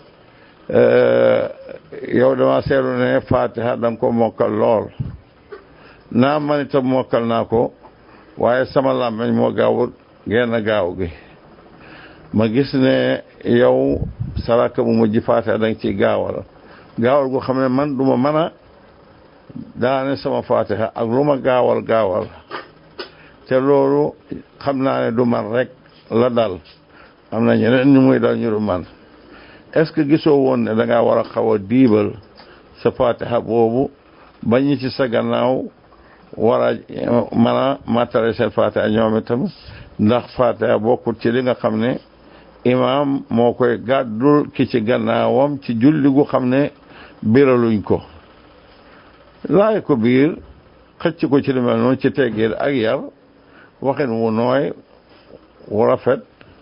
yow dama seetlu ne Fatiha da nga ko mokkal lool naa man itam mokkal naa ko waaye sama làmmiñ moo gaawul genn gaaw gi ma gis ne yow saraka bu mujj Fatiha da nga ciy gaawal gaawal gu xam ne man duma mën a daane sama Fatiha ak lu ma gaawal gaawal te loolu xam naa ne du man rek la dal am na ñeneen ñu muy dal ñu du man est-ce que gisoo woon ne da ngaa war a xaw a diibal sa Fatiha boobu ba ñi ci sa gannaaw war a mën a matale seen Fatiha ñoom itam ndax Fatiha bokkul ci li nga xam ne imaam moo koy gàddul ki ci gannaawam ci julli gu xam ne biraluñ ko laay ko biir xëcc ko ci li mel noonu ci teggeel ak yar waxin wu nooy wu rafet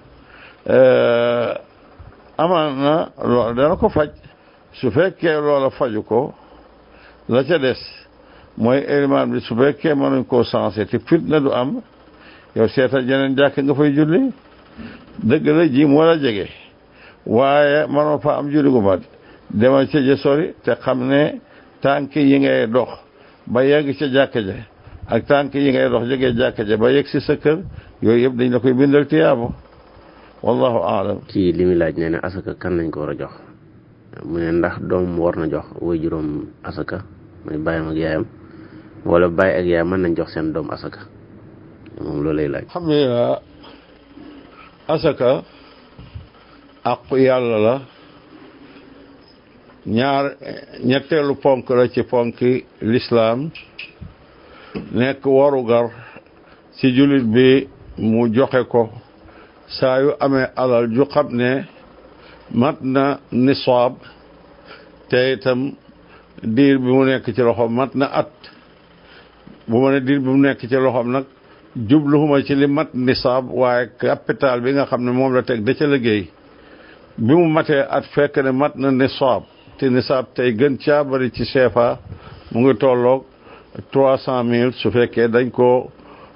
amaan na loolu dana ko faj su fekkee loola faju ko la ca des mooy élimaan bi su fekkee mënuñ koo sensé te fitna du am yow seetal jeneen jàkk nga fay julli dëgg la ji moo la jege waaye mënoo fa am julli gu mat demal ca ja sori te xam ne tànk yi ngay dox ba yegg ca jàkka ja ak tànk yi ngay dox jógee jàkka ja ba yegg si sa kër yooyu yëpp dañ la koy bindal tiyaabo wallahu aalam. ci li muy laaj nee na asaka kan lañ ko war a jox mu ne ndax doom war na jox way juróom asaka muy bàyyam ak yaayam wala bàyyi ak yaayam mën nañ jox seen doom asaka moom loolu lay laaj. alhamdulilah asaka aqu yàlla la ñaar ñetteelu ponk la ci ponki lislaam nekk warugar ci jullit bi mu joxe ko saa yu amee alal ju xam ne mat na nisaab te itam diir bi mu nekk ci loxoom mat na at bu ma ne diir bi mu nekk ci loxoom nag jubluwuma ci li mat nisaab waaye capital bi nga xam ne moom la teg da ca liggéey bi mu matee at fekk ne mat na nisaab te nisaab tey gën caa bari ci C F A mu ngi tolloog trois cent mille su fekkee dañ ko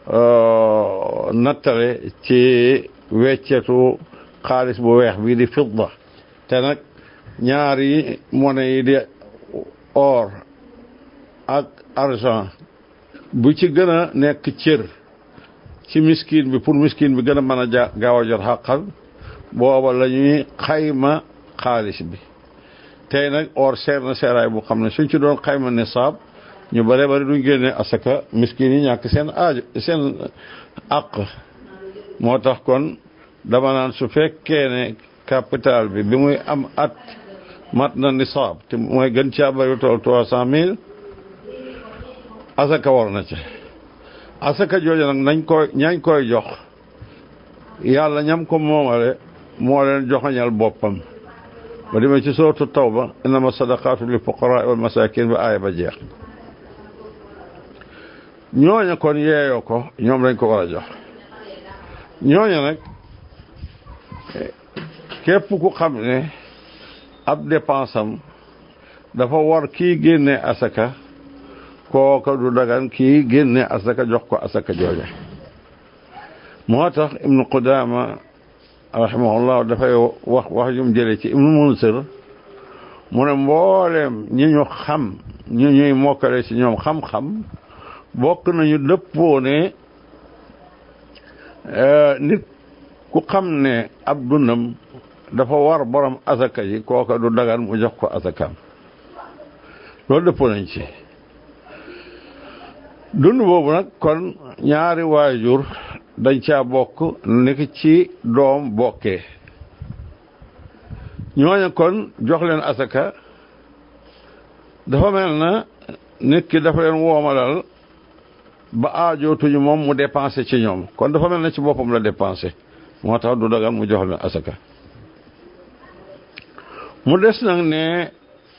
nattale ci weccetu xaalis bu weex bii di fidda te nag ñaari monnaie yi di or ak argent bu ci gën a nekk cër ci miskin bi pour miskin bi gën a mën a ja gaaw a jot xàqal booba la ñuy xayma xaalis bi tey nag or seer na seeraay bu xam ne suñ ci doon xayma nisaab ñu bare bari duñ génne asaka miskin yi ñàkk seen aajo seen àq moo tax kon dama naan su fekkee ne capital bi bi muy am at mat na nisaab te mooy gën caa bari tool trois cent mille asaka war na ca asaka jooju nag nañ koy ñañ koy jox yàlla ñam ko moomale moo leen joxañal boppam ba demee ci sourate Tawba innama sadaqatu lil fuqara wal masakin ba aaya ba jeex ñooña kon yeeyoo ko ñoom lañ ko war a jox ñooña nag képp ku xam ne ab dépense am dafa war kii génne asaka kooka du dagan kii génne asaka jox ko asaka jooja moo tax ibnu Qudaama rahimahullah dafay wax wax jum jële ci ibnu Munsir mu ne mbooleem ñi ñu xam ñu ñuy mokkale ci ñoom xam-xam bokk nañu dëppoo ne nit ku xam ne ab dundam dafa war borom asaka yi kooka du dagan mu jox ko asakaam loolu dëppoo nañ ci dund boobu nag kon ñaari waajur dañ caa bokk nekk ci doom bokkee ñooña kon jox leen asaka dafa mel na nit ki dafa leen woomalal ba aajootuñu moom mu dépensé ci ñoom kon dafa mel na ci boppam la dépensé moo tax du dagan mu jox leen asaka mu des nag ne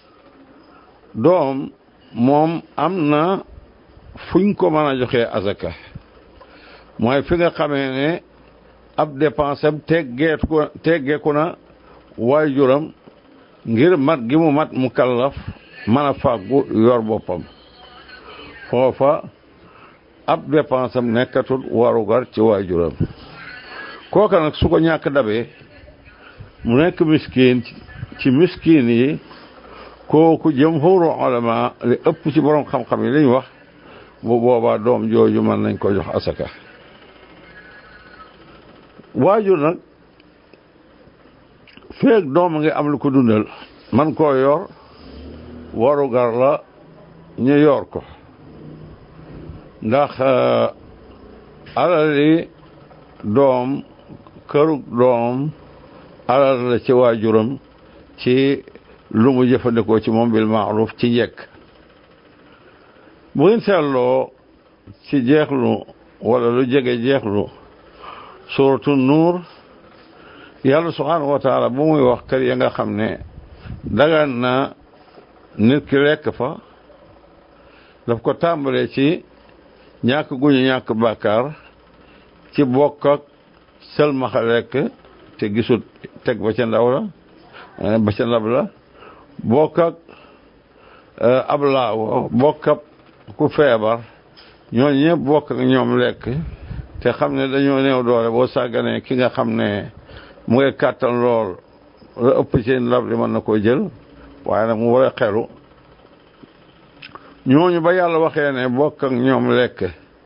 doom moom am na fuñ ko mën a joxee asaka mooy fi nga xamee ne ab dépense am teggeetu ko teggeeku na waajuram ngir mat gi mu mat mu kallaf mën a fàggu yor boppam foofa ab dépense am nekkatul warugar ci waajuram kooka nag su ko ñàkk dabee mu nekk miskin ci miskin yi kooku jumhuru ulama li ëpp ci borom xam-xam yi li ñu wax bu boobaa doom jooju mën nañ ko jox asaka waajur nag feek doom ngi am lu ko dundal man koo yor warugar la ñu yor ko ndax alali doom kërug doom alal la ci waajuram ci lu mu jëfandikoo ci moom bil maaruf ci njëkk bu ngeen seetloo ci jeexlu wala lu jege jeexlu suratu nuur yàlla subhaanahu wa taala bu muy wax kër ya nga xam ne dagan na nit ki lekk fa daf ko tàmbalee ci ñàkk guñu ñàkk bàkkaar ci bokk ak sëlmaxa lekk te gisut teg ba ca ndaw la ba ca ndab la bokk ak ab laawo bokk ak ku feebar ñooñu ñëpp bokk ak ñoom lekk te xam ne dañoo néew doole boo sàgganee ki nga xam ne mu ngi kàttan lool la ëpp ci ndab li mën na koo jël waaye nag mu war a xelu ñooñu ba yàlla waxee ne bokk ak ñoom lekk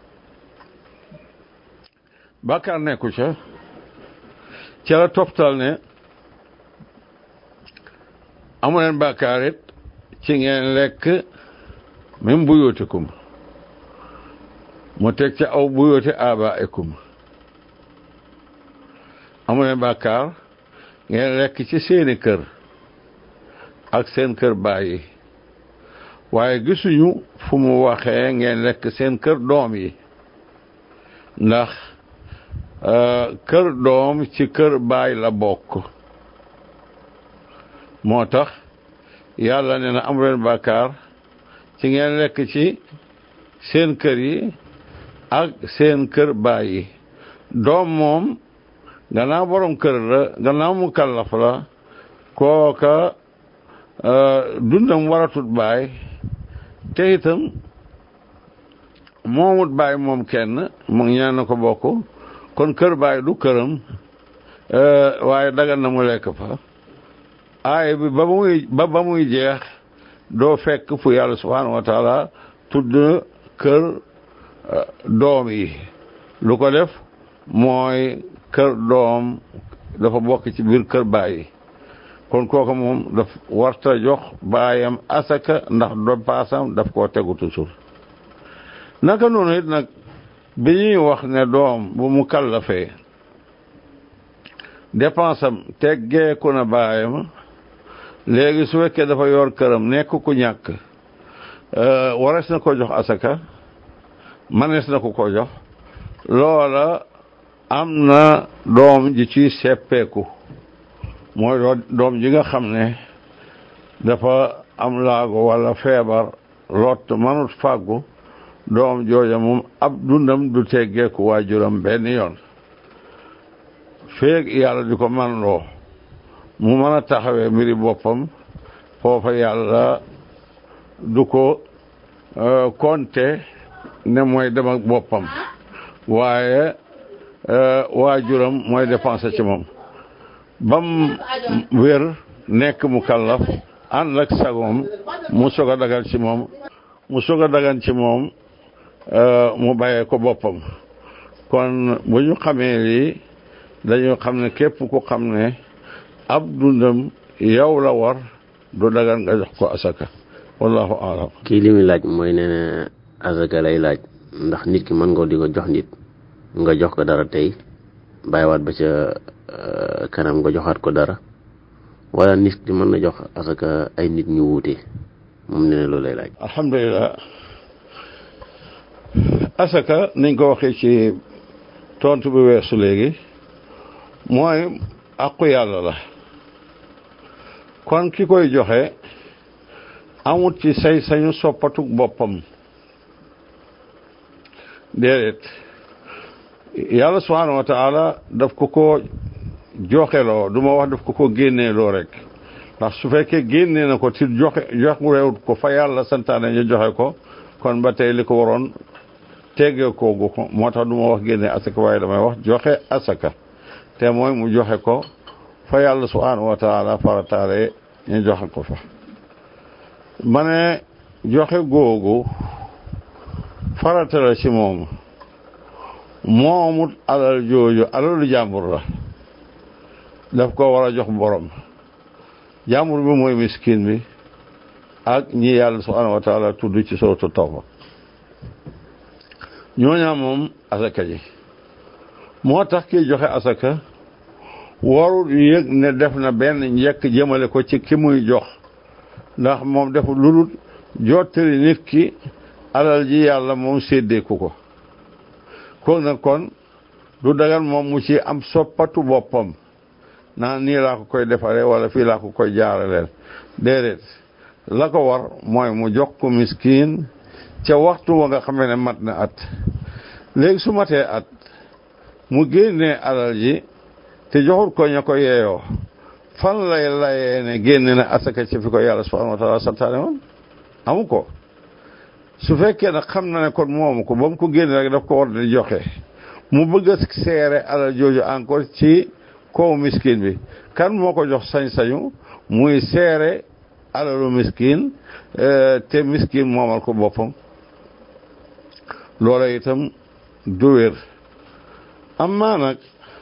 bàkkaar nekku ca ca la toptal ne amu leen bàkkaar it ci ngeen lekk même buyootikum mu teg ca aw buyooti abaikum amu leen bàkkaar ngeen lekk ci seeni kër ak seen kër bàyyi waaye gisuñu fu mu waxee ngeen lekk seen kër doom yi ndax kër doom ci kër baay la bokk moo tax yàlla nee na amu leen bàkkaar ci ngeen lekk ci seen kër yi ak seen kër baay yi doom moom gannaaw borom kër la gannaaw mu kallaf la kooka dundam waratut baay te itam moomut baay moom kenn mu ñaan na ko bokk kon kër baay du këram waaye dagan na mu lekk fa aay bi ba muy ba ba muy jeex doo fekk fu yàlla subhanahu wa taala tudd kër doom yi lu ko def mooy kër doom dafa bokk ci biir kër baay kon kooku moom daf warta jox baayam asaka ndax do paasam daf koo tegu toujours naka noonu it nag bi ñuy wax ne doom bu mu kallafee dépensam teggeeku na baayam léegi su fekkee dafa yor këram nekk ku ñàkk warees na ko jox asaka manees na ko ko jox loola am na doom ji ci seppeeku mooy doom ji nga xam ne dafa am laago walla feebar lot manut fàggu doom jooja moom ab dundam du teggeeku waajuram benn yoon feeg yàlla di ko man loo mu mën a taxawee mbiri boppam foofa yàlla du ko konte ne mooy dem ak boppam waaye waajuram mooy dépenser ci moom bam wér nekk mu kallaf ànd ak sagoom mu soog a dagan ci moom mu soog a dagan ci moom mu bàyyee ko boppam kon bu ñu xamee lii dañu xam ne képp ku xam ne ab dundam yow la war du dagan nga jox ko asaka wallahu aalam. kii li muy laaj mooy nee na asaka lay laaj ndax nit ki mën nga di ko jox nit nga jox ko dara tey bàyyiwaat ba ca kanam nga joxaat ko dara wala nit ki mën na jox asaka ay nit ñu wuute moom nee na loolu lay laaj. alhamdulilah asaka niñ ko waxee ci tontu bi weesu léegi mooy àqu yàlla la kon ki koy joxe amut ci say sañu soppatuk boppam déedéet yàlla subhanahu wa taala daf ko ko joxeloo du ma wax daf ko ko génneeloo rek ndax su fekkee génnee na ko ci joxe jox réewut ko fa yàlla santaane ñu joxe ko kon ba tey li ko waroon teggee koogu ko moo tax du ma wax génne asaka waaye damay wax joxe asaka te mooy mu joxe ko fa yàlla subhanahu wa taala farataale ñu joxe ko fa ma ne joxe googu farata la ci moom moomut alal jooju alalu jàmbur la daf ko war a jox borom jàmbur bi mooy miskin bi ak ñi yàlla subhanahu wa taala tudd ci sootu Tawba ñooñaa moom asaka ji moo tax kiy joxe asaka warul yëg ne def na benn njëkk jëmale ko ci ki muy jox ndax moom deful lu dul jottali nit ki alal ji yàlla moom séddeeku ko kon nag kon du dagan moom mu ci am soppatu boppam naan nii laa ko koy defaree wala fii laa ko koy jaaraleel déedéet la ko war mooy mu jox ko miskin ca waxtu wa nga xamee ne mat na at léegi su matee at mu génnee alal ji te joxul ko ña ko yeeyoo fan lay layee ne génne na asaka ci fi ko yàlla subhanahu wa taala santaane woon amu ko su fekkee nag xam na ne kon moomu ko ba mu ko génne rek daf ko war di joxe mu bëgg a seere alal jooju encore ci kaw miskin bi kan moo ko jox sañ-sañu muy seere alalu miskin te miskin moomal ko boppam loola itam du wér amma nag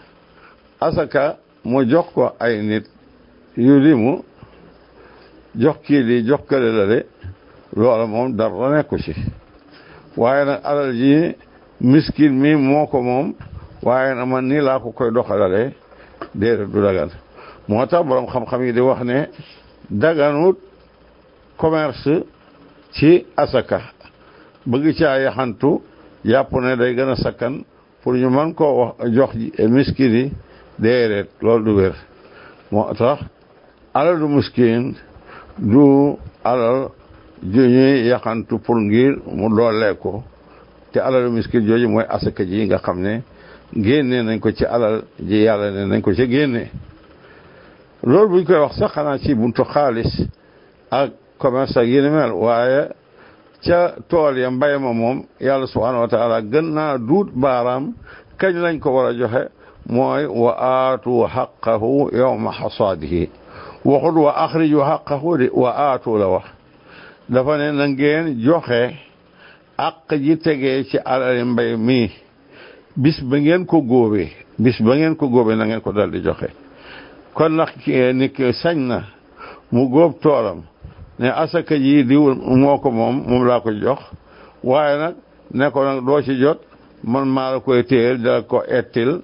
asaka mu jox ko ay nit yu limu jox kii di jox kële la de loola moom dara nekku ci waaye nag alal ji miskin mi moo ko moom waaye nag man nii laa ko koy doxalale déedéet du dagan moo tax borom xam-xam yi di wax ne daganut commerce ci asaka bëgg caa yaxantu yàpp ne day gën a sakkan pour ñu mën koo wax jox miskin yi déedéet loolu du wér moo tax alal du miskin du alal ju ñuy yaxantu pour ngir mu doolee ko te alal du miskin jooju mooy asaka ji nga xam ne génne nañ ko ci alal ji yàlla ne nañ ko ci génne loolu buñ koy wax sax xanaa ci buntu xaalis ak commerce ak yéni mel waaye ca tool ya mbay ma moom yàlla subhanahu wa taala gën naa duut baaraam kañ lañ ko war a joxe mooy wa aatu xaqahu yawma xasaadihi waxut wa axriju xaqahu di wa aatu la wax dafa ne na ngeen joxe àq ji tegee ci alali mbay mi bis ba ngeen ko góobee bis ba ngeen ko góobee na ngeen ko dal di joxe kon nag nit ki sañ na mu góob toolam ne asaka ji diw moo ko moom moom laa ko jox waaye nag ne ko nag doo ci jot man maa la koy téyel dala ko ettil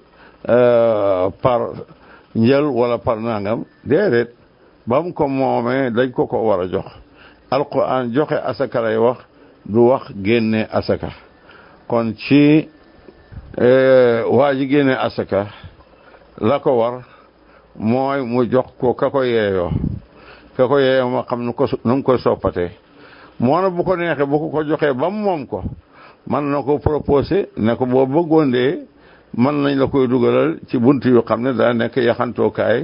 par njël wala par nangam déedéet ba mu ko moomee dañ ko ko war a jox alquran joxe asaka lay wax du wax génne asaka kon ci waa ji génne asaka la ko war mooy mu jox ko ka ko yeeyoo ka ko yeeyoo ma xam nu ko nu mu koy soppatee moo na bu ko neexee bu ko ko joxee ba mu moom ko man na ko proposé ne ko boo bëggoon dee mën nañ la koy dugalal ci bunt yu xam ne daa nekk yaxantookaay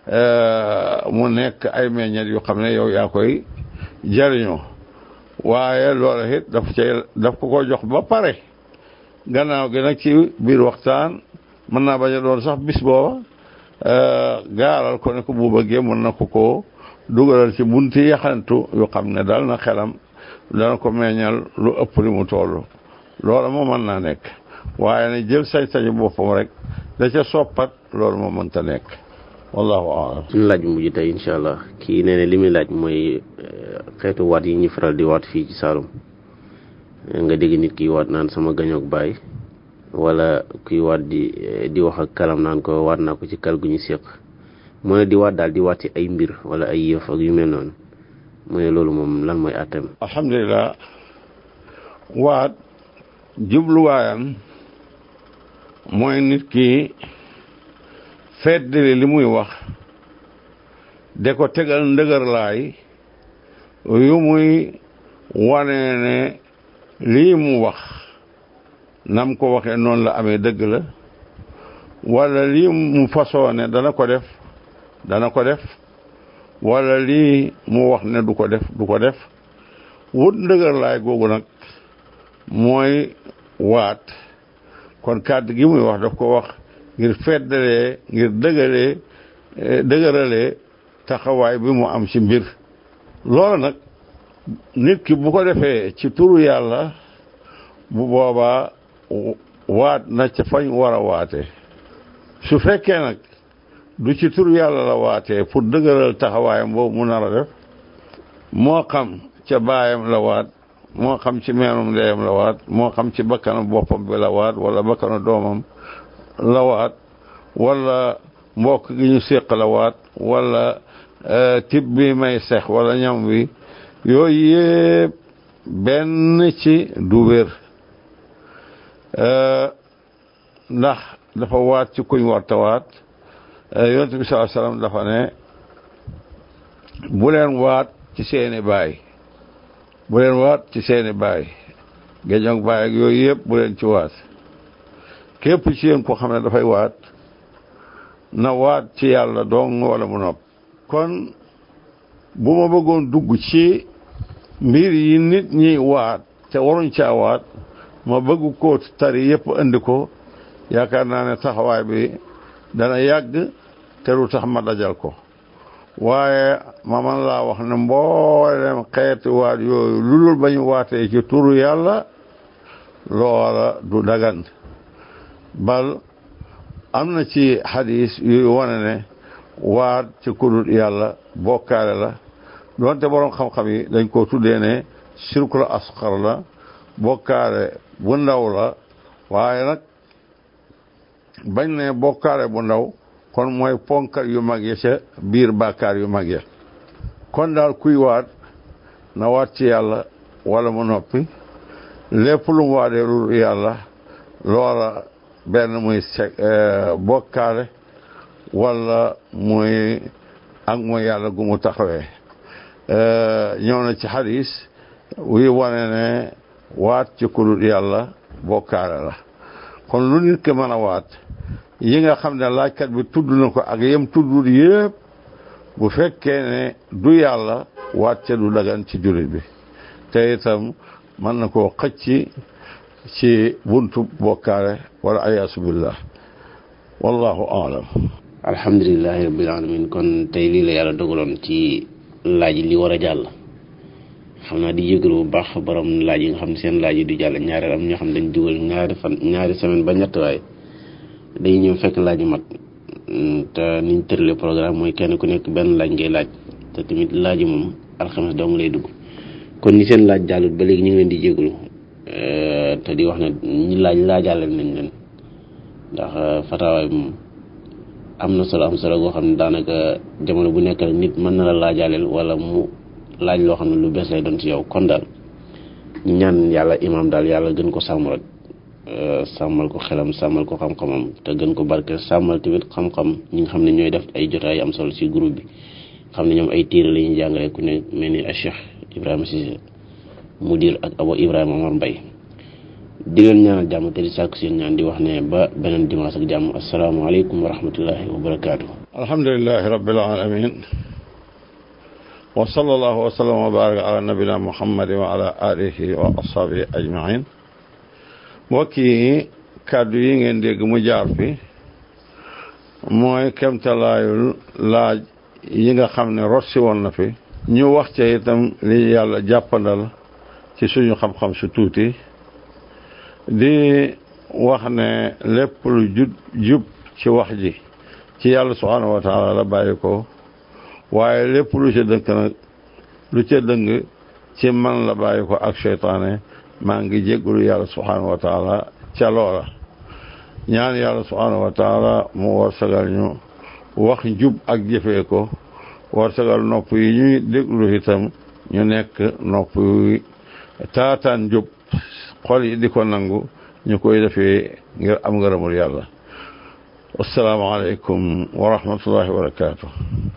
mu nekk ay meññet yu xam ne yow yaa koy jariñoo waaye loola it daf cay daf ko ko jox ba pare gannaaw gi nag ci biir waxtaan mën naa bañ a doon sax bis booba gaaral ko ne ko bu bëggee mën na ko ko dugalal ci bunti yaxantu yu xam ne dal na xelam dana ko meññal lu ëpp li mu toll loola moo mën naa nekk waaye ne jël sañ-sañu boppam rek da ca soppat loolu moo mënta nekk wallahu a'lam. suñu laaj mujj tey incha allah kii nee na li muy laaj mooy xeetu waat yi ñuy faral di waat fii ci Saalum nga dégg nit ki waat naan sama gañoog baay wala kuy waat di di wax ak kalam naan ko waat naa ko ci kal gu ñu séq mu ne di waat daal di waat ci ay mbir wala ay yëf ak yu mel noonu mu ne loolu moom lan mooy àtteem. alhamdulilah waat jubluwaayam mooy nit ki feddali li muy wax de ko tegal ndëgër laay yu muy wane ne lii mu wax nam ko waxee noonu la amee dëgg la wala lii mu fasoo ne dana ko def dana ko def wala lii mu wax ne du ko def du ko def wut ndëgër laay googu nag mooy waat kon kàddu gi muy wax daf ko wax ngir feddalee ngir dëgëlee dëgëralee taxawaay bi mu am ci mbir loolu nag nit ki bu ko defee ci turu yàlla bu boobaa waat na ca fañ war a waate su fekkee nag du ci turu yàlla la waatee pour dëgëral taxawaayam boobu mu nar a def moo xam ca baayam la waat moo xam ci meenum ndeyam la waat moo xam ci bakkanu boppam bi la waat wala bakkanu doomam la waat wala mbokk gi ñu séq la waat wala tib bi may sex wala ñam wi yooyu yëpp benn ci du wér ndax dafa waat ci kuñ warta waat yonent bi sallallahu alayhi wasallam dafa ne bu leen waat ci seeni baay bu leen waat ci seeni baay géñoog baay ak yooyu yëpp bu leen ci waat képp ci yéen ko xam ne dafay waat na waat ci yàlla dong wala mu nopp kon bu ma bëggoon dugg ci mbir yi nit ñi waat te waruñ caa waat ma bëgg ko tari yëpp andi ko yaakaar naa ne taxawaay bi dana yàgg te du tax ma dajal ko waaye ma man laa wax ne mboolem xeeti waat yooyu lu dul ba ñu waatee ci turu yàlla loola du dagan bal am na ci xadis yuy wane ne waat ci kudut yàlla bokkaale la doonte borom xam-xam yi dañ ko tuddee ne shirkul asxar la bokkaale bu ndaw la waaye nag bañ ne bokkaale bu ndaw kon mooy ponkal yu mag ya ca biir bàkkaar yu mag ya kon daal kuy waat na waat ci yàlla wala mu noppi lépp lu mu waatee lu yàlla loola benn muy sek bokkaale wala muy ak mooy yàlla gu mu taxawee ñëw na ci xadis wuy wane ne waat ci kudut yàlla bokkaale la kon lu nit ki mën a waat yi nga xam ne laajkat bi tudd na ko ak yem tuddul yépp bu fekkee ne du yàlla waat ca du dagan ci jullit bi te itam mën na koo xëcc ci buntu bokkaale wala ayaasu billah wallahu aalam. alhamdulilahi rabbil alamin kon tey lii la yàlla dogaloon ci laaj li war a jàll xam naa di yëgalu bu baax fa borom laaj yi nga xam ne seen laaj yi du jàll ñaareel am ñoo xam ne dañ dugal ñaari fan ñaari semaine ba ñett waaye dañuy ñëw fekk laaj yu mat te niñ tërale programme mooy kenn ku nekk benn laaj ngay laaj te tamit laaj yi moom alxames dong lay dugg kon ni seen laaj jàllut ba léegi ñu ngi leen di yëgalu te di wax ne ñi laaj laajaale nañ leen ndax fatawaay moom am na solo am solo goo xam ne daanaka jamono bu nekk rek nit mën na la laajaaleel wala mu laaj loo xam ne lu bees lay doon ci yow kon daal ñu ñaan yàlla imaam daal yàlla gën ko sàmm rek sàmmal ko xelam sàmmal ko xam-xamam te gën ko barke sàmmal tamit xam-xam ñi nga xam ne ñooy def ay jotaay am solo ci groupe bi xam ne ñoom ay téere la ñuy jàngale ku ne mel ni Cheikh Ibrahima Cissé mudir ak Abo Ibrahima Omar Mbaye di leen ñaanal jàmm te di sàkku seen ñaan di wax ne ba beneen dimanche ak jàmm asalaamaaleykum wa rahmatullahi wa barakaatu. alhamdulilahi rabbil alamin wa sallallahu wa sallam wa baraka ala nabina muhammadin wa ala alihi wa ashabihi ajmain mbokk yi kàddu yi ngeen dégg mu jaar fi mooy kemtalaayul laaj yi nga xam ne rot si woon na fi ñu wax ca itam li yàlla jàppandal ci suñu xam-xam su tuuti di wax ne lépp lu jub jub ci wax ji ci yàlla subhanahu wa taala la bàyyi ko waaye lépp lu ca dënk nag lu ca dëng ci man la bàyyi ko ak seytaane maa ngi jéggulu yàlla subhanahu wa taala ca loola ñaan yàlla subhanahu wa taala mu war sagal ñu wax njub ak jëfee ko war sagal nopp yi ñuy déglu itam ñu nekk nopp yi taataan njub xol yi di ko nangu ñu koy defee ngir am ngërëmul yàlla assalaamu aleykum wa rahmatullahi wa barakatuh